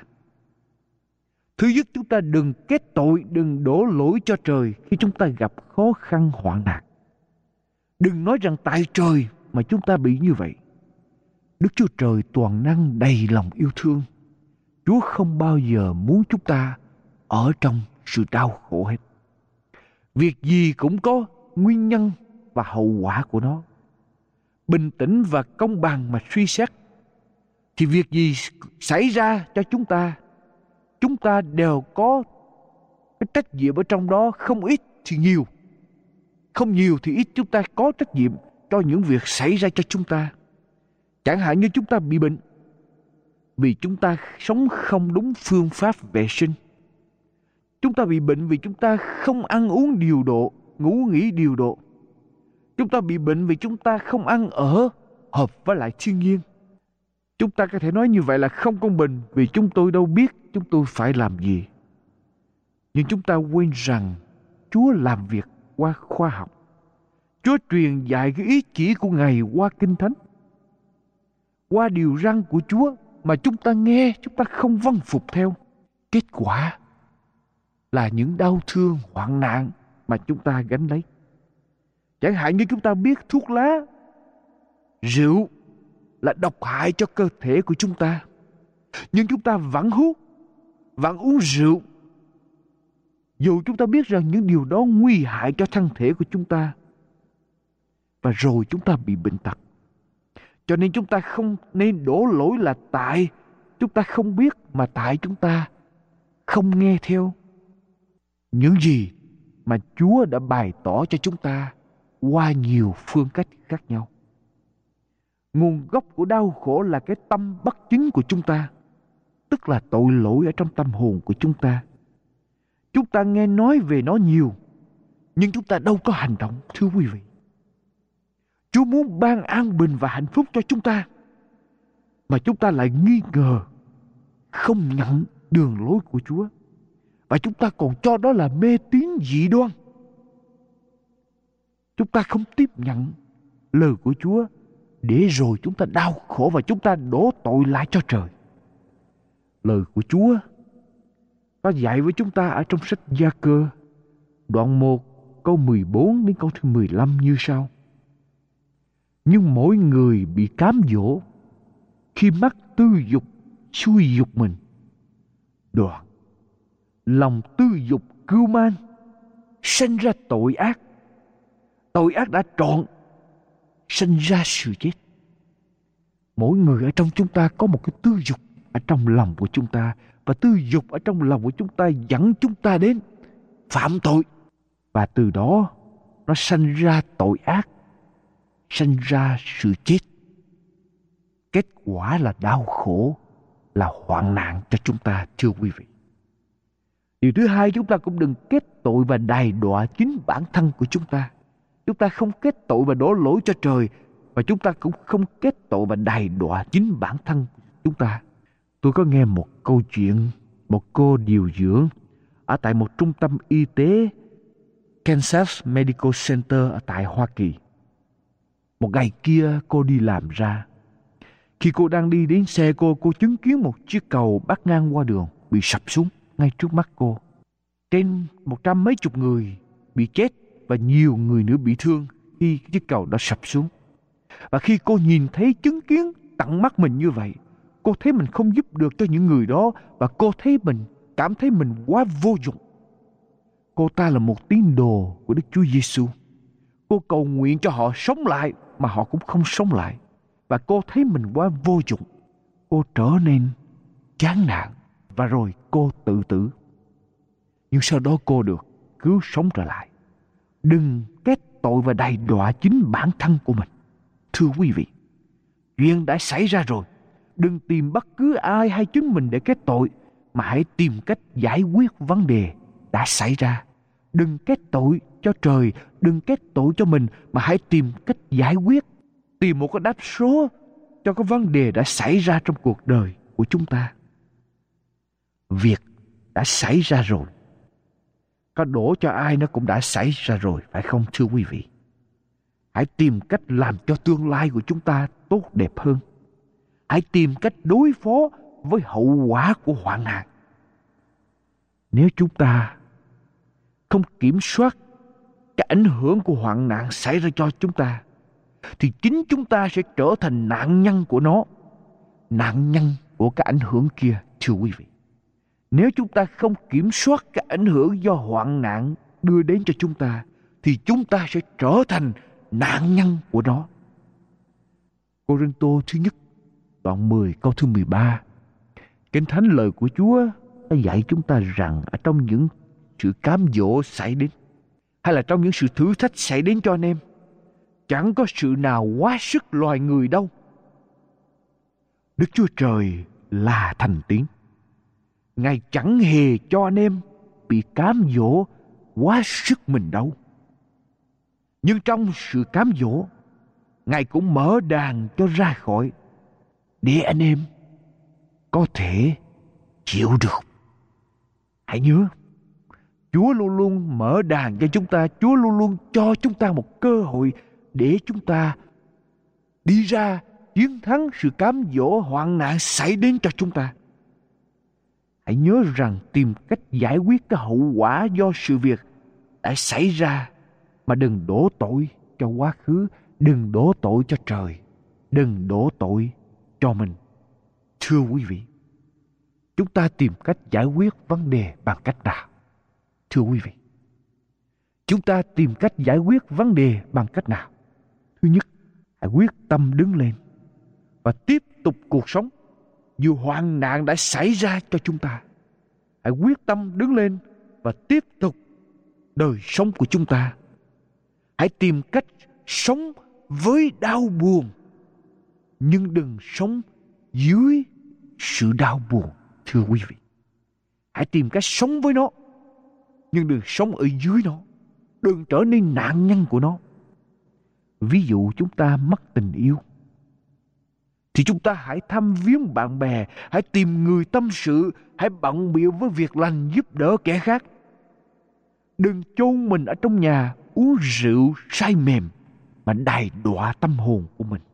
Thứ nhất, chúng ta đừng kết tội, đừng đổ lỗi cho trời khi chúng ta gặp khó khăn hoạn nạn. Đừng nói rằng tại trời mà chúng ta bị như vậy. Đức Chúa Trời toàn năng đầy lòng yêu thương. Chúa không bao giờ muốn chúng ta ở trong sự đau khổ hết. Việc gì cũng có nguyên nhân và hậu quả của nó. Bình tĩnh và công bằng mà suy xét, thì việc gì xảy ra cho chúng ta đều có cái trách nhiệm ở trong đó, không ít thì nhiều. Không nhiều thì ít, chúng ta có trách nhiệm cho những việc xảy ra cho chúng ta. Chẳng hạn như chúng ta bị bệnh vì chúng ta sống không đúng phương pháp vệ sinh. Chúng ta bị bệnh vì chúng ta không ăn uống điều độ, ngủ nghỉ điều độ. Chúng ta bị bệnh vì chúng ta không ăn ở hợp với lại thiên nhiên. Chúng ta có thể nói như vậy là không công bình, vì chúng tôi đâu biết chúng tôi phải làm gì. Nhưng chúng ta quên rằng Chúa làm việc qua khoa học. Chúa truyền dạy cái ý chỉ của Ngài qua Kinh Thánh, qua điều răn của Chúa mà chúng ta nghe, chúng ta không vâng phục theo. Kết quả là những đau thương, hoạn nạn mà chúng ta gánh lấy. Chẳng hạn như chúng ta biết thuốc lá, rượu là độc hại cho cơ thể của chúng ta, nhưng chúng ta vẫn hút, vẫn uống rượu, dù chúng ta biết rằng những điều đó nguy hại cho thân thể của chúng ta. Và rồi chúng ta bị bệnh tật. Cho nên chúng ta không nên đổ lỗi là tại chúng ta không biết, mà tại chúng ta không nghe theo những gì mà Chúa đã bày tỏ cho chúng ta qua nhiều phương cách khác nhau. Nguồn gốc của đau khổ là cái tâm bất chính của chúng ta, tức là tội lỗi ở trong tâm hồn của chúng ta. Chúng ta nghe nói về nó nhiều, nhưng chúng ta đâu có hành động, thưa quý vị. Chúa muốn ban an bình và hạnh phúc cho chúng ta, mà chúng ta lại nghi ngờ, không nhận đường lối của Chúa, và chúng ta còn cho đó là mê tín dị đoan. Chúng ta không tiếp nhận lời của Chúa, để rồi chúng ta đau khổ và chúng ta đổ tội lại cho trời. Lời của Chúa có dạy với chúng ta ở trong sách Gia-cơ đoạn 1 câu 14 đến câu thứ 15 như sau: Nhưng mỗi người bị cám dỗ khi mắt tư dục xui dục mình, đoạn lòng tư dục cưu man sanh ra tội ác, tội ác đã trọn sanh ra sự chết. Mỗi người ở trong chúng ta có một cái tư dục ở trong lòng của chúng ta, và tư dục ở trong lòng của chúng ta dẫn chúng ta đến phạm tội, và từ đó nó sanh ra tội ác, sanh ra sự chết. Kết quả là đau khổ, là hoạn nạn cho chúng ta, thưa quý vị. Điều thứ hai, chúng ta cũng đừng kết tội và đày đọa chính bản thân của chúng ta. Chúng ta không kết tội và đổ lỗi cho trời, và chúng ta cũng không kết tội và đày đọa chính bản thân của chúng ta. Tôi có nghe một câu chuyện, một cô điều dưỡng ở tại một trung tâm y tế Kansas Medical Center ở tại Hoa Kỳ. Một ngày kia cô đi làm ra. Khi cô đang đi đến xe cô chứng kiến một chiếc cầu bắc ngang qua đường bị sập xuống ngay trước mắt cô. Trên 100 mấy chục người bị chết và nhiều người nữa bị thương khi chiếc cầu đã sập xuống. Và khi cô nhìn thấy, chứng kiến tận mắt mình như vậy, cô thấy mình không giúp được cho những người đó, và cô cảm thấy mình quá vô dụng. Cô ta là một tín đồ của Đức Chúa Giêsu. Cô cầu nguyện cho họ sống lại mà họ cũng không sống lại, và cô thấy mình quá vô dụng. Cô trở nên chán nản và rồi cô tự tử. Nhưng sau đó cô được cứu sống trở lại. Đừng kết tội và đày đọa chính bản thân của mình. Thưa quý vị, chuyện đã xảy ra rồi. Đừng tìm bất cứ ai hay chính mình để kết tội, mà hãy tìm cách giải quyết vấn đề đã xảy ra. Đừng kết tội cho trời, đừng kết tội cho mình, mà hãy tìm cách giải quyết, tìm một cái đáp số cho cái vấn đề đã xảy ra trong cuộc đời của chúng ta. Việc đã xảy ra rồi, có đổ cho ai nó cũng đã xảy ra rồi, phải không thưa quý vị? Hãy tìm cách làm cho tương lai của chúng ta tốt đẹp hơn. Hãy tìm cách đối phó với hậu quả của hoạn nạn. Nếu chúng ta không kiểm soát cái ảnh hưởng của hoạn nạn xảy ra cho chúng ta, thì chính chúng ta sẽ trở thành nạn nhân của nó, nạn nhân của cái ảnh hưởng kia, thưa quý vị. Nếu chúng ta không kiểm soát cái ảnh hưởng do hoạn nạn đưa đến cho chúng ta, thì chúng ta sẽ trở thành nạn nhân của nó. Cô-rinh-tô thứ nhất đoạn 10 câu thứ 13. Kinh Thánh lời của Chúa đã dạy chúng ta rằng ở trong những sự cám dỗ xảy đến, hay là trong những sự thử thách xảy đến cho anh em, chẳng có sự nào quá sức loài người đâu. Đức Chúa Trời là thành tín. Ngài chẳng hề cho anh em bị cám dỗ quá sức mình đâu. Nhưng trong sự cám dỗ, Ngài cũng mở đàn cho ra khỏi, để anh em có thể chịu được. Hãy nhớ, Chúa luôn luôn mở đàn cho chúng ta. Chúa luôn luôn cho chúng ta một cơ hội để chúng ta đi ra chiến thắng sự cám dỗ hoạn nạn xảy đến cho chúng ta. Hãy nhớ rằng tìm cách giải quyết cái hậu quả do sự việc đã xảy ra, mà đừng đổ tội cho quá khứ, đừng đổ tội cho trời, đừng đổ tội cho mình. Thưa quý vị, chúng ta tìm cách giải quyết vấn đề bằng cách nào? Thưa quý vị, chúng ta tìm cách giải quyết vấn đề bằng cách nào? Thứ nhất, hãy quyết tâm đứng lên và tiếp tục cuộc sống dù hoạn nạn đã xảy ra cho chúng ta. Hãy quyết tâm đứng lên và tiếp tục đời sống của chúng ta. Hãy tìm cách sống với đau buồn, nhưng đừng sống dưới sự đau buồn. Thưa quý vị, hãy tìm cách sống với nó, nhưng đừng sống ở dưới nó, đừng trở nên nạn nhân của nó. Ví dụ chúng ta mất tình yêu, thì chúng ta hãy thăm viếng bạn bè, hãy tìm người tâm sự, hãy bận bịu với việc lành giúp đỡ kẻ khác. Đừng chôn mình ở trong nhà uống rượu say mềm mà đày đọa tâm hồn của mình.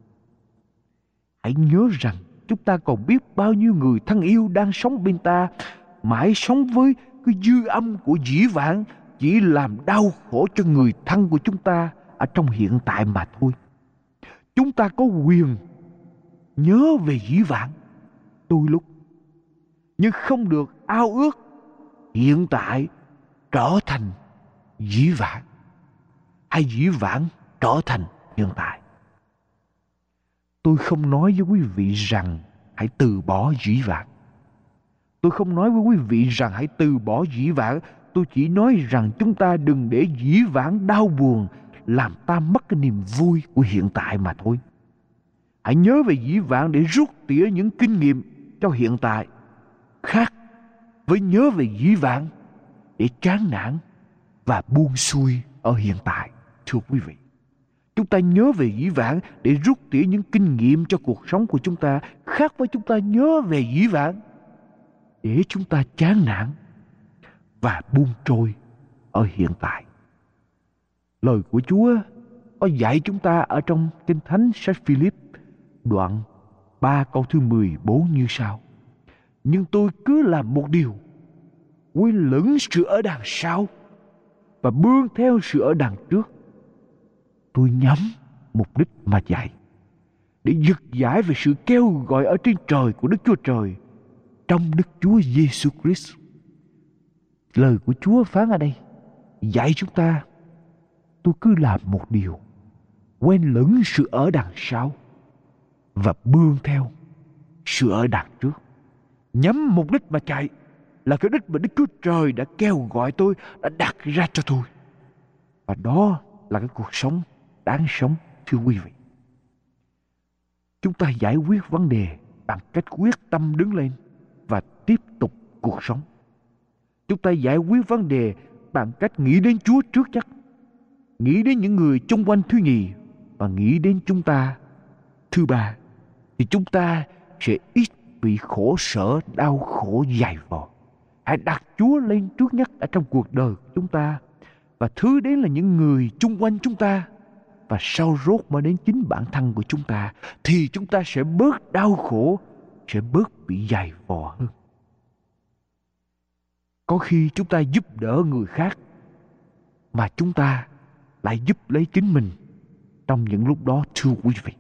Hãy nhớ rằng chúng ta còn biết bao nhiêu người thân yêu đang sống bên ta, mãi sống với cái dư âm của dĩ vãng, chỉ làm đau khổ cho người thân của chúng ta ở trong hiện tại mà thôi. Chúng ta có quyền nhớ về dĩ vãng đôi lúc, nhưng không được ao ước hiện tại trở thành dĩ vãng, hay dĩ vãng trở thành hiện tại. Tôi không nói với quý vị rằng hãy từ bỏ dĩ vãng. Tôi không nói với quý vị rằng hãy từ bỏ dĩ vãng. Tôi chỉ nói rằng chúng ta đừng để dĩ vãng đau buồn làm ta mất cái niềm vui của hiện tại mà thôi. Hãy nhớ về dĩ vãng để rút tỉa những kinh nghiệm cho hiện tại, khác với nhớ về dĩ vãng để chán nản và buông xuôi ở hiện tại. Thưa quý vị, chúng ta nhớ về dĩ vãng để rút tỉa những kinh nghiệm cho cuộc sống của chúng ta, khác với chúng ta nhớ về dĩ vãng để chúng ta chán nản và buông trôi ở hiện tại. Lời của Chúa có dạy chúng ta ở trong Kinh Thánh sách Philip đoạn 3 câu thứ 14 như sau: Nhưng tôi cứ làm một điều, quên lửng sự ở đằng sau và bươn theo sự ở đằng trước. Tôi nhắm mục đích mà chạy, để giật giải về sự kêu gọi ở trên trời của Đức Chúa Trời trong Đức Chúa Giêsu Christ. Lời của Chúa phán ở đây dạy chúng ta, tôi cứ làm một điều, quên lửng sự ở đằng sau và bươn theo sự ở đằng trước. Nhắm mục đích mà chạy là cái đích mà Đức Chúa Trời đã kêu gọi tôi, đã đặt ra cho tôi. Và đó là cái cuộc sống đáng sống. Thưa quý vị, chúng ta giải quyết vấn đề bằng cách quyết tâm đứng lên và tiếp tục cuộc sống. Chúng ta giải quyết vấn đề bằng cách nghĩ đến Chúa trước nhất, nghĩ đến những người chung quanh thứ nhì, và nghĩ đến chúng ta thứ ba, thì chúng ta sẽ ít bị khổ sở, đau khổ dày vò. Hãy đặt Chúa lên trước nhất ở trong cuộc đời của chúng ta, và thứ đến là những người chung quanh chúng ta, và sau rốt mới đến chính bản thân của chúng ta, thì chúng ta sẽ bớt đau khổ, sẽ bớt bị dày vò hơn. Có khi chúng ta giúp đỡ người khác mà chúng ta lại giúp lấy chính mình trong những lúc đó. Thưa quý vị,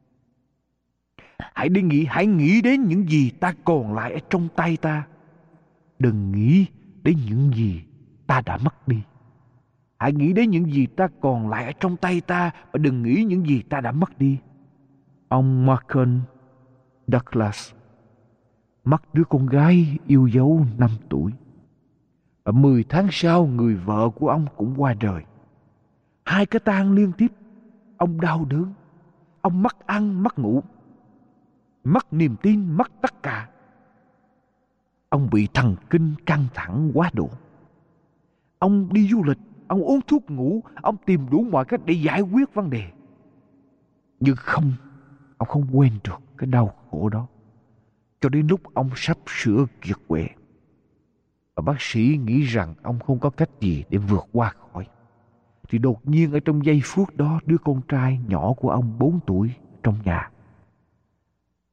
hãy nghĩ đến những gì ta còn lại ở trong tay ta, đừng nghĩ đến những gì ta đã mất đi. Hãy nghĩ đến những gì ta còn lại ở trong tay ta, và đừng nghĩ những gì ta đã mất đi. Ông Malcolm Douglas mất đứa con gái yêu dấu 5 tuổi. Và 10 tháng sau, người vợ của ông cũng qua đời. 2 cái tang liên tiếp. Ông đau đớn. Ông mất ăn, mất ngủ, mất niềm tin, mất tất cả. Ông bị thần kinh căng thẳng quá độ. Ông đi du lịch, ông uống thuốc ngủ, ông tìm đủ mọi cách để giải quyết vấn đề. Nhưng ông không quên được cái đau khổ đó, cho đến lúc ông sắp sửa kiệt quệ. Và bác sĩ nghĩ rằng ông không có cách gì để vượt qua khỏi. Thì đột nhiên ở trong giây phút đó, đứa con trai nhỏ của ông 4 tuổi trong nhà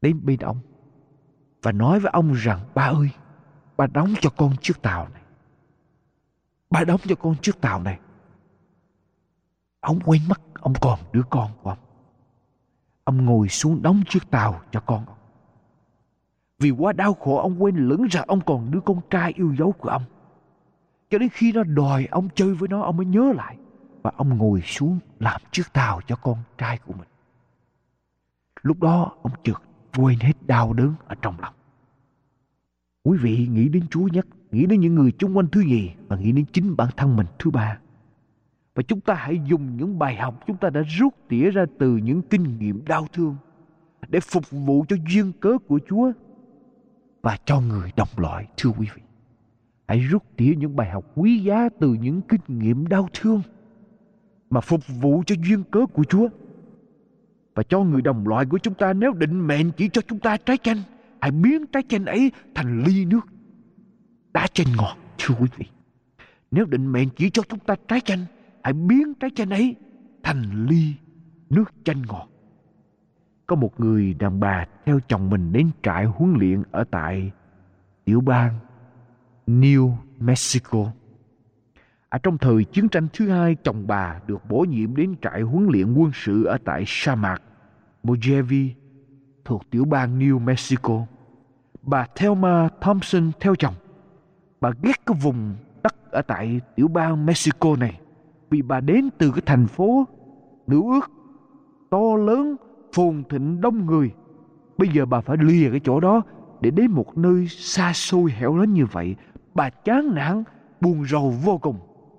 đến bên ông và nói với ông rằng: ba ơi, ba đóng cho con chiếc tàu này. Ba đóng cho con chiếc tàu này. Ông quên mất ông còn đứa con của ông. Ông ngồi xuống đóng chiếc tàu cho con ông. Vì quá đau khổ, ông quên lẫn rằng ông còn đứa con trai yêu dấu của ông. Cho đến khi nó đòi ông chơi với nó, ông mới nhớ lại. Và ông ngồi xuống làm chiếc tàu cho con trai của mình. Lúc đó ông chợt quên hết đau đớn ở trong lòng. Quý vị nghĩ đến Chúa nhất, nghĩ đến những người chung quanh thứ nhì, và nghĩ đến chính bản thân mình thứ ba. Và chúng ta hãy dùng những bài học chúng ta đã rút tỉa ra từ những kinh nghiệm đau thương để phục vụ cho duyên cớ của Chúa và cho người đồng loại. Thưa quý vị, hãy rút tỉa những bài học quý giá từ những kinh nghiệm đau thương mà phục vụ cho duyên cớ của Chúa và cho người đồng loại của chúng ta. Nếu định mệnh chỉ cho chúng ta trái chanh, hãy biến trái chanh ấy thành ly nước đá chanh ngọt. Thưa quý vị, nếu định mệnh chỉ cho chúng ta trái chanh, hãy biến trái chanh ấy thành ly nước chanh ngọt. Có một người đàn bà theo chồng mình đến trại huấn luyện ở tại tiểu bang New Mexico. Ở trong thời chiến tranh thứ hai, chồng bà được bổ nhiệm đến trại huấn luyện quân sự ở tại sa mạc Mojave thuộc tiểu bang New Mexico. Bà Thelma Thompson theo chồng. Bà ghét cái vùng đất ở tại tiểu bang Mexico này vì bà đến từ cái thành phố nữ ước to lớn, phồn thịnh, đông người. Bây giờ bà phải lìa cái chỗ đó để đến một nơi xa xôi hẻo lánh như vậy. Bà chán nản, buồn rầu vô cùng.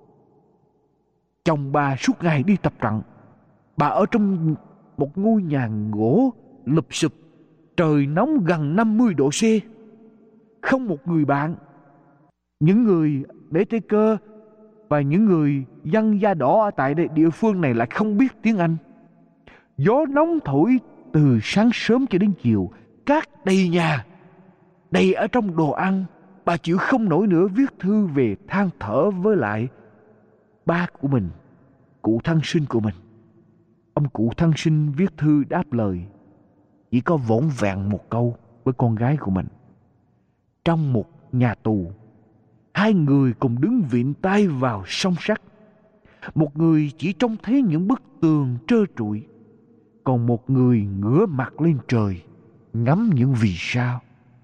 Chồng bà suốt ngày đi tập trận. Bà ở trong một ngôi nhà gỗ lụp xụp, trời nóng gần 50 độ C. Không một người bạn. Những người để tay cơ và những người dân da đỏ ở tại địa phương này lại không biết tiếng Anh. Gió nóng thổi từ sáng sớm cho đến chiều, cát đầy nhà, đầy ở trong đồ ăn. Bà chịu không nổi nữa, viết thư về than thở với lại ba của mình, cụ thân sinh của mình. Ông cụ thân sinh viết thư đáp lời chỉ có vỏn vẹn một câu với con gái của mình. Trong một nhà tù, hai người cùng đứng vịn tay vào song sắt. Một người chỉ trông thấy những bức tường trơ trụi, còn một người ngửa mặt lên trời ngắm những vì sao.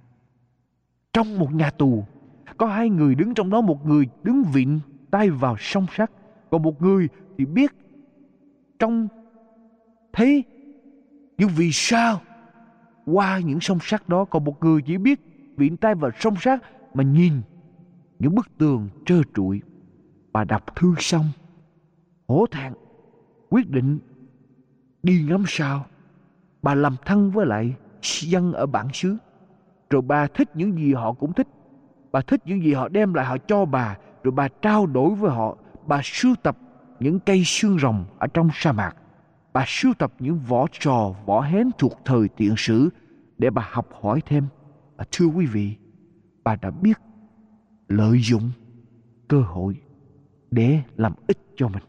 Trong một nhà tù có hai người đứng trong đó, một người đứng vịn tay vào song sắt, còn một người thì biết trông thấy những vì sao qua những song sắt đó, còn một người chỉ biết vịn tay vào song sắt mà nhìn những bức tường trơ trụi. Bà đọc thư xong, hổ thẹn, quyết định đi ngắm sao. Bà làm thân với lại dân ở bản xứ, rồi bà thích những gì họ cũng thích. Bà thích những gì họ đem lại họ cho bà, rồi bà trao đổi với họ. Bà sưu tập những cây xương rồng ở trong sa mạc. Bà sưu tập những vỏ trò, vỏ hén thuộc thời tiền sử để bà học hỏi thêm. Thưa quý vị, bà đã biết lợi dụng cơ hội để làm ích cho mình.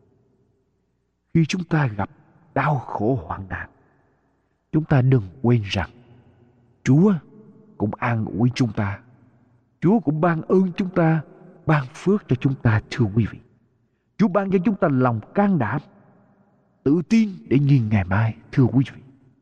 Khi chúng ta gặp đau khổ hoạn nạn, chúng ta đừng quên rằng Chúa cũng an ủi chúng ta. Chúa cũng ban ơn chúng ta, ban phước cho chúng ta. Thưa quý vị, Chúa ban cho chúng ta lòng can đảm, tự tin để nhìn ngày mai. Thưa quý vị,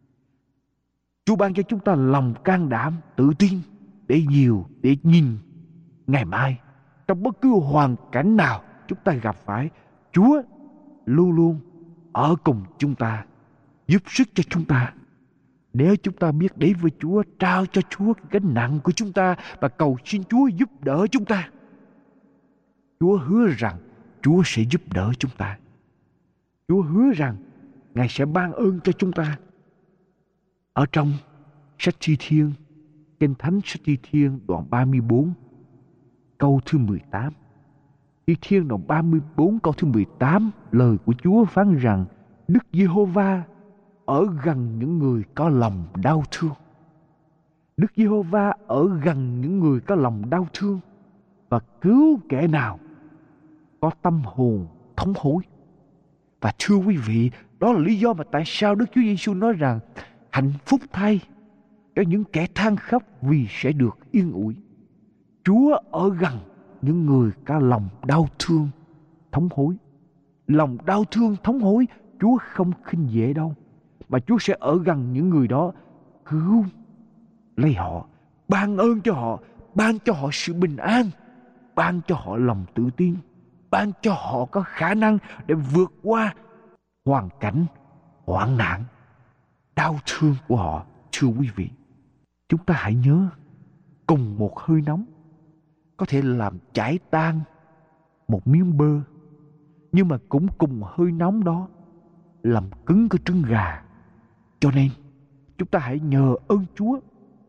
Chúa ban cho chúng ta lòng can đảm, tự tin để nhìn ngày mai. Trong bất cứ hoàn cảnh nào chúng ta gặp phải, Chúa luôn luôn ở cùng chúng ta, giúp sức cho chúng ta. Nếu chúng ta biết đến với Chúa, trao cho Chúa cái gánh nặng của chúng ta và cầu xin Chúa giúp đỡ chúng ta, Chúa hứa rằng Chúa sẽ giúp đỡ chúng ta. Chúa hứa rằng Ngài sẽ ban ơn cho chúng ta. Ở trong sách Thi Thiên, Kinh Thánh sách Thi Thiên đoạn 34 câu thứ 18. Thi Thiên đoạn 34 câu thứ 18, lời của Chúa phán rằng Đức Giê-hô-va ở gần những người có lòng đau thương. Đức Giê-hô-va ở gần những người có lòng đau thương và cứu kẻ nào có tâm hồn thống hối. Và thưa quý vị, đó là lý do mà tại sao Đức Chúa Giêsu nói rằng hạnh phúc thay cho những kẻ than khóc vì sẽ được yên ủi. Chúa ở gần những người có lòng đau thương, thống hối. Lòng đau thương, thống hối, Chúa không khinh dễ đâu. Mà Chúa sẽ ở gần những người đó, cứu lấy họ, ban ơn cho họ, ban cho họ sự bình an, ban cho họ lòng tự tin, ban cho họ có khả năng để vượt qua hoàn cảnh, hoạn nạn, đau thương của họ. Thưa quý vị, chúng ta hãy nhớ, cùng một hơi nóng có thể làm chảy tan một miếng bơ, nhưng mà cũng cùng hơi nóng đó làm cứng cái trứng gà. Cho nên chúng ta hãy nhờ ơn Chúa,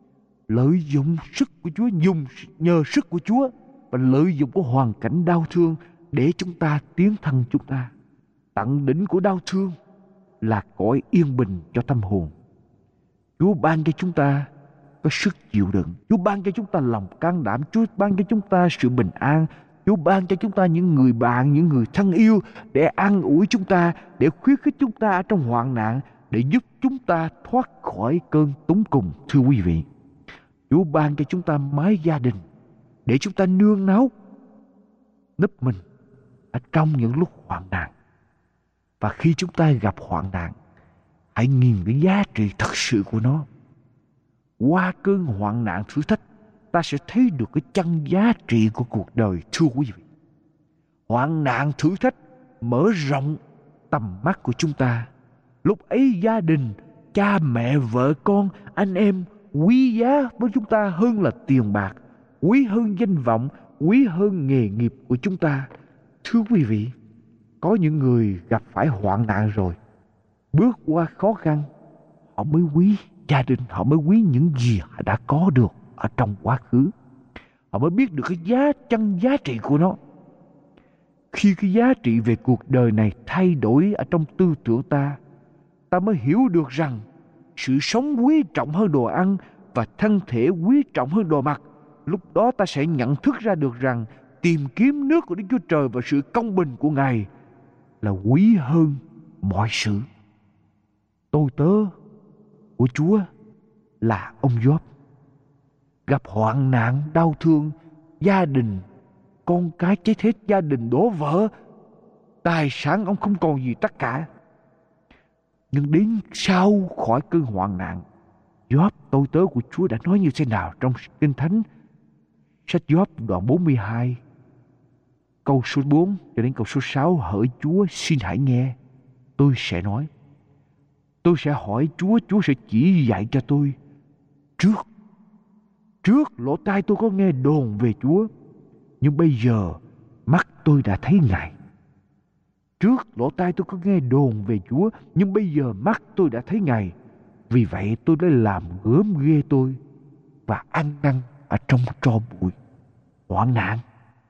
lợi dụng sức của Chúa, nhờ sức của Chúa và lợi dụng của hoàn cảnh đau thương để chúng ta tiến thân chúng ta. Tận đỉnh của đau thương là cõi yên bình cho tâm hồn. Chúa ban cho chúng ta có sức chịu đựng, Chúa ban cho chúng ta lòng can đảm, Chúa ban cho chúng ta sự bình an, Chúa ban cho chúng ta những người bạn, những người thân yêu để an ủi chúng ta, để khuyến khích chúng ta ở trong hoạn nạn, để giúp chúng ta thoát khỏi cơn túng cùng. Thưa quý vị, Chúa ban cho chúng ta mái gia đình để chúng ta nương náu núp mình ở trong những lúc hoạn nạn. Và khi chúng ta gặp hoạn nạn, hãy nhìn cái giá trị thật sự của nó. Qua cơn hoạn nạn thử thách, ta sẽ thấy được cái chân giá trị của cuộc đời. Thưa quý vị, hoạn nạn thử thách mở rộng tầm mắt của chúng ta. Lúc ấy gia đình, cha mẹ, vợ con, anh em quý giá với chúng ta hơn là tiền bạc, quý hơn danh vọng, quý hơn nghề nghiệp của chúng ta. Thưa quý vị, có những người gặp phải hoạn nạn rồi, bước qua khó khăn, họ mới quý gia đình, họ mới quý những gì họ đã có được ở trong quá khứ. Họ mới biết được cái chân giá trị của nó. Khi cái giá trị về cuộc đời này thay đổi ở trong tư tưởng ta, ta mới hiểu được rằng sự sống quý trọng hơn đồ ăn và thân thể quý trọng hơn đồ mặc. Lúc đó ta sẽ nhận thức ra được rằng tìm kiếm nước của Đức Chúa Trời và sự công bình của Ngài là quý hơn mọi sự. Tôi tớ của Chúa là ông Gióp, gặp hoạn nạn đau thương, gia đình con cái chết hết, gia đình đổ vỡ, tài sản ông không còn gì tất cả. Nhưng đến sau khỏi cơn hoạn nạn, Gióp tôi tớ của Chúa đã nói như thế nào trong Kinh Thánh? Sách Gióp đoạn 42 câu số 4 cho đến câu số 6: hỡi Chúa, xin hãy nghe, tôi sẽ nói. Tôi sẽ hỏi Chúa, Chúa sẽ chỉ dạy cho tôi. Trước lỗ tai tôi có nghe đồn về Chúa, nhưng bây giờ mắt tôi đã thấy Ngài. Trước lỗ tai tôi có nghe đồn về Chúa, nhưng bây giờ mắt tôi đã thấy Ngài. Vì vậy tôi đã làm gớm ghê tôi và ăn năn ở trong tro bụi. Hoạn nạn,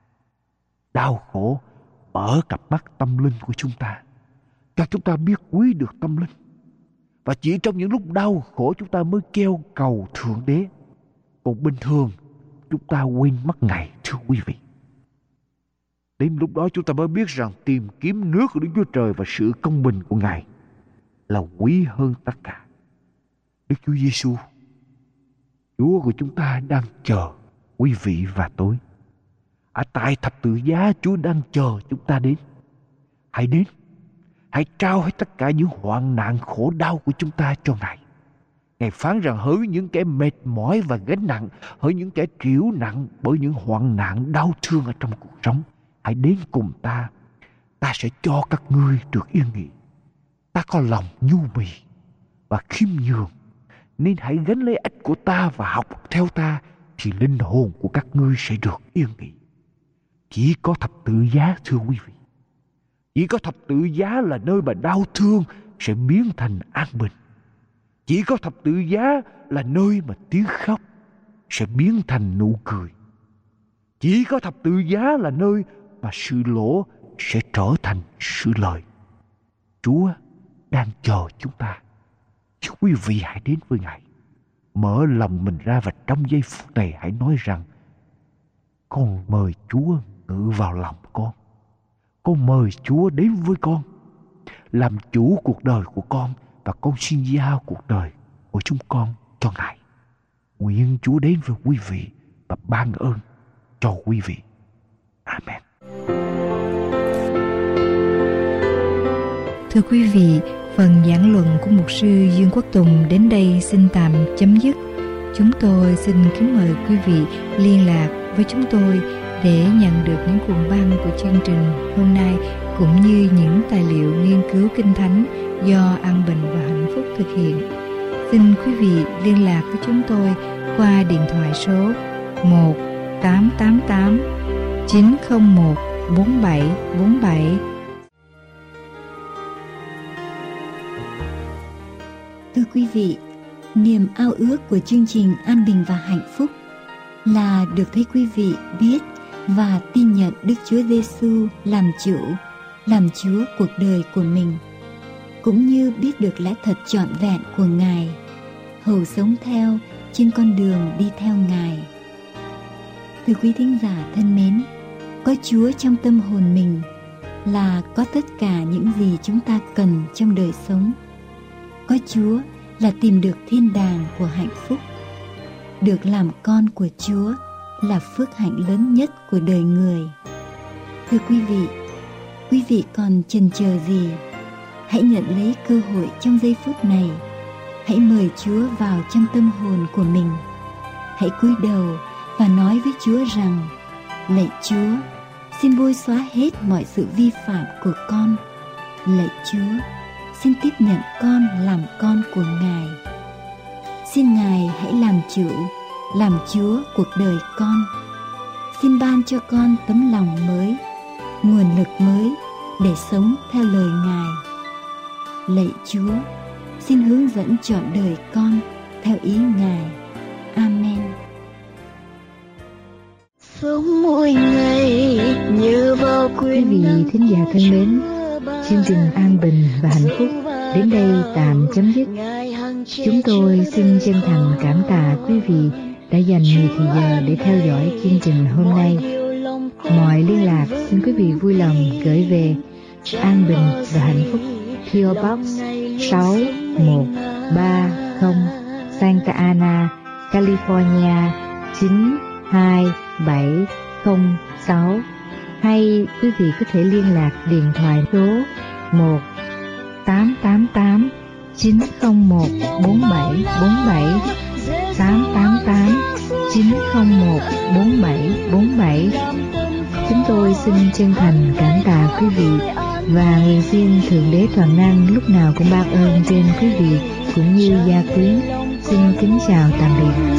đau khổ mở cặp mắt tâm linh của chúng ta, cho chúng ta biết quý được tâm linh. Và chỉ trong những lúc đau khổ chúng ta mới kêu cầu Thượng Đế. Còn bình thường chúng ta quên mất Ngài. Thưa quý vị, đến lúc đó chúng ta mới biết rằng tìm kiếm nước của Đức Chúa Trời và sự công bình của Ngài là quý hơn tất cả. Đức Chúa Giêsu, Chúa của chúng ta, đang chờ quý vị và tôi. Ở tại thập tự giá, Chúa đang chờ chúng ta đến. Hãy đến, hãy trao hết tất cả những hoạn nạn khổ đau của chúng ta cho Ngài. Ngài phán rằng hỡi những kẻ mệt mỏi và gánh nặng, hỡi những kẻ chịu nặng bởi những hoạn nạn đau thương ở trong cuộc sống, hãy đến cùng ta. Ta sẽ cho các ngươi được yên nghỉ. Ta có lòng nhu mì và khiêm nhường, nên hãy gánh lấy ách của ta và học theo ta, thì linh hồn của các ngươi sẽ được yên nghỉ. Chỉ có thập tự giá, thưa quý vị, chỉ có thập tự giá là nơi mà đau thương sẽ biến thành an bình. Chỉ có thập tự giá là nơi mà tiếng khóc sẽ biến thành nụ cười. Chỉ có thập tự giá là nơi mà sự lỗ sẽ trở thành sự lợi. Chúa đang chờ chúng ta. Chứ quý vị hãy đến với Ngài, mở lòng mình ra, và trong giây phút này hãy nói rằng: con mời Chúa ngự vào lòng con. Con mời Chúa đến với con, làm chủ cuộc đời của con, và con xin giao cuộc đời của chúng con cho Ngài. Nguyện Chúa đến với quý vị và ban ơn cho quý vị. Amen. Thưa quý vị, phần giảng luận của mục sư Dương Quốc Tùng đến đây xin tạm chấm dứt. Chúng tôi xin kính mời quý vị liên lạc với chúng tôi để nhận được những cuộn băng của chương trình hôm nay, cũng như những tài liệu nghiên cứu Kinh Thánh do An Bình và Hạnh Phúc thực hiện. Xin quý vị liên lạc với chúng tôi qua điện thoại số 1-888-901-4747. Thưa quý vị, niềm ao ước của chương trình An Bình và Hạnh Phúc là được thấy quý vị biết và tin nhận Đức Chúa Giêsu làm chủ, làm Chúa cuộc đời của mình, cũng như biết được lẽ thật trọn vẹn của Ngài, hầu sống theo trên con đường đi theo Ngài. Thưa quý thính giả thân mến, có Chúa trong tâm hồn mình là có tất cả những gì chúng ta cần trong đời sống. Có Chúa là tìm được thiên đàng của hạnh phúc. Được làm con của Chúa là phước hạnh lớn nhất của đời người. Thưa quý vị còn chần chờ gì? Hãy nhận lấy cơ hội trong giây phút này. Hãy mời Chúa vào trong tâm hồn của mình. Hãy cúi đầu và nói với Chúa rằng: lạy Chúa, xin bôi xóa hết mọi sự vi phạm của con. Lạy Chúa, xin tiếp nhận con làm con của Ngài. Xin Ngài hãy làm chủ, làm Chúa cuộc đời con. Xin ban cho con tấm lòng mới, nguồn lực mới để sống theo lời Ngài. Lạy Chúa, xin hướng dẫn trọn đời con theo ý Ngài. Amen. Sống mỗi ngày như vào quý vị thính giả thân mến, chương trình An Bình và Hạnh Phúc đến đây tạm chấm dứt. Chúng tôi xin chân thành cảm tạ quý vị đã dành nhiều thời giờ để theo dõi chương trình hôm nay. Mọi liên lạc xin quý vị vui lòng gửi về An Bình và Hạnh Phúc, PO Box 6130, Santa Ana, California 92706. Hay quý vị có thể liên lạc điện thoại số 1-888-901-4747, 888-901-4747. Chúng tôi xin chân thành cảm tạ quý vị và nguyện xin Thượng Đế Toàn Năng lúc nào cũng ban ơn trên quý vị cũng như gia quyến. Xin kính chào tạm biệt.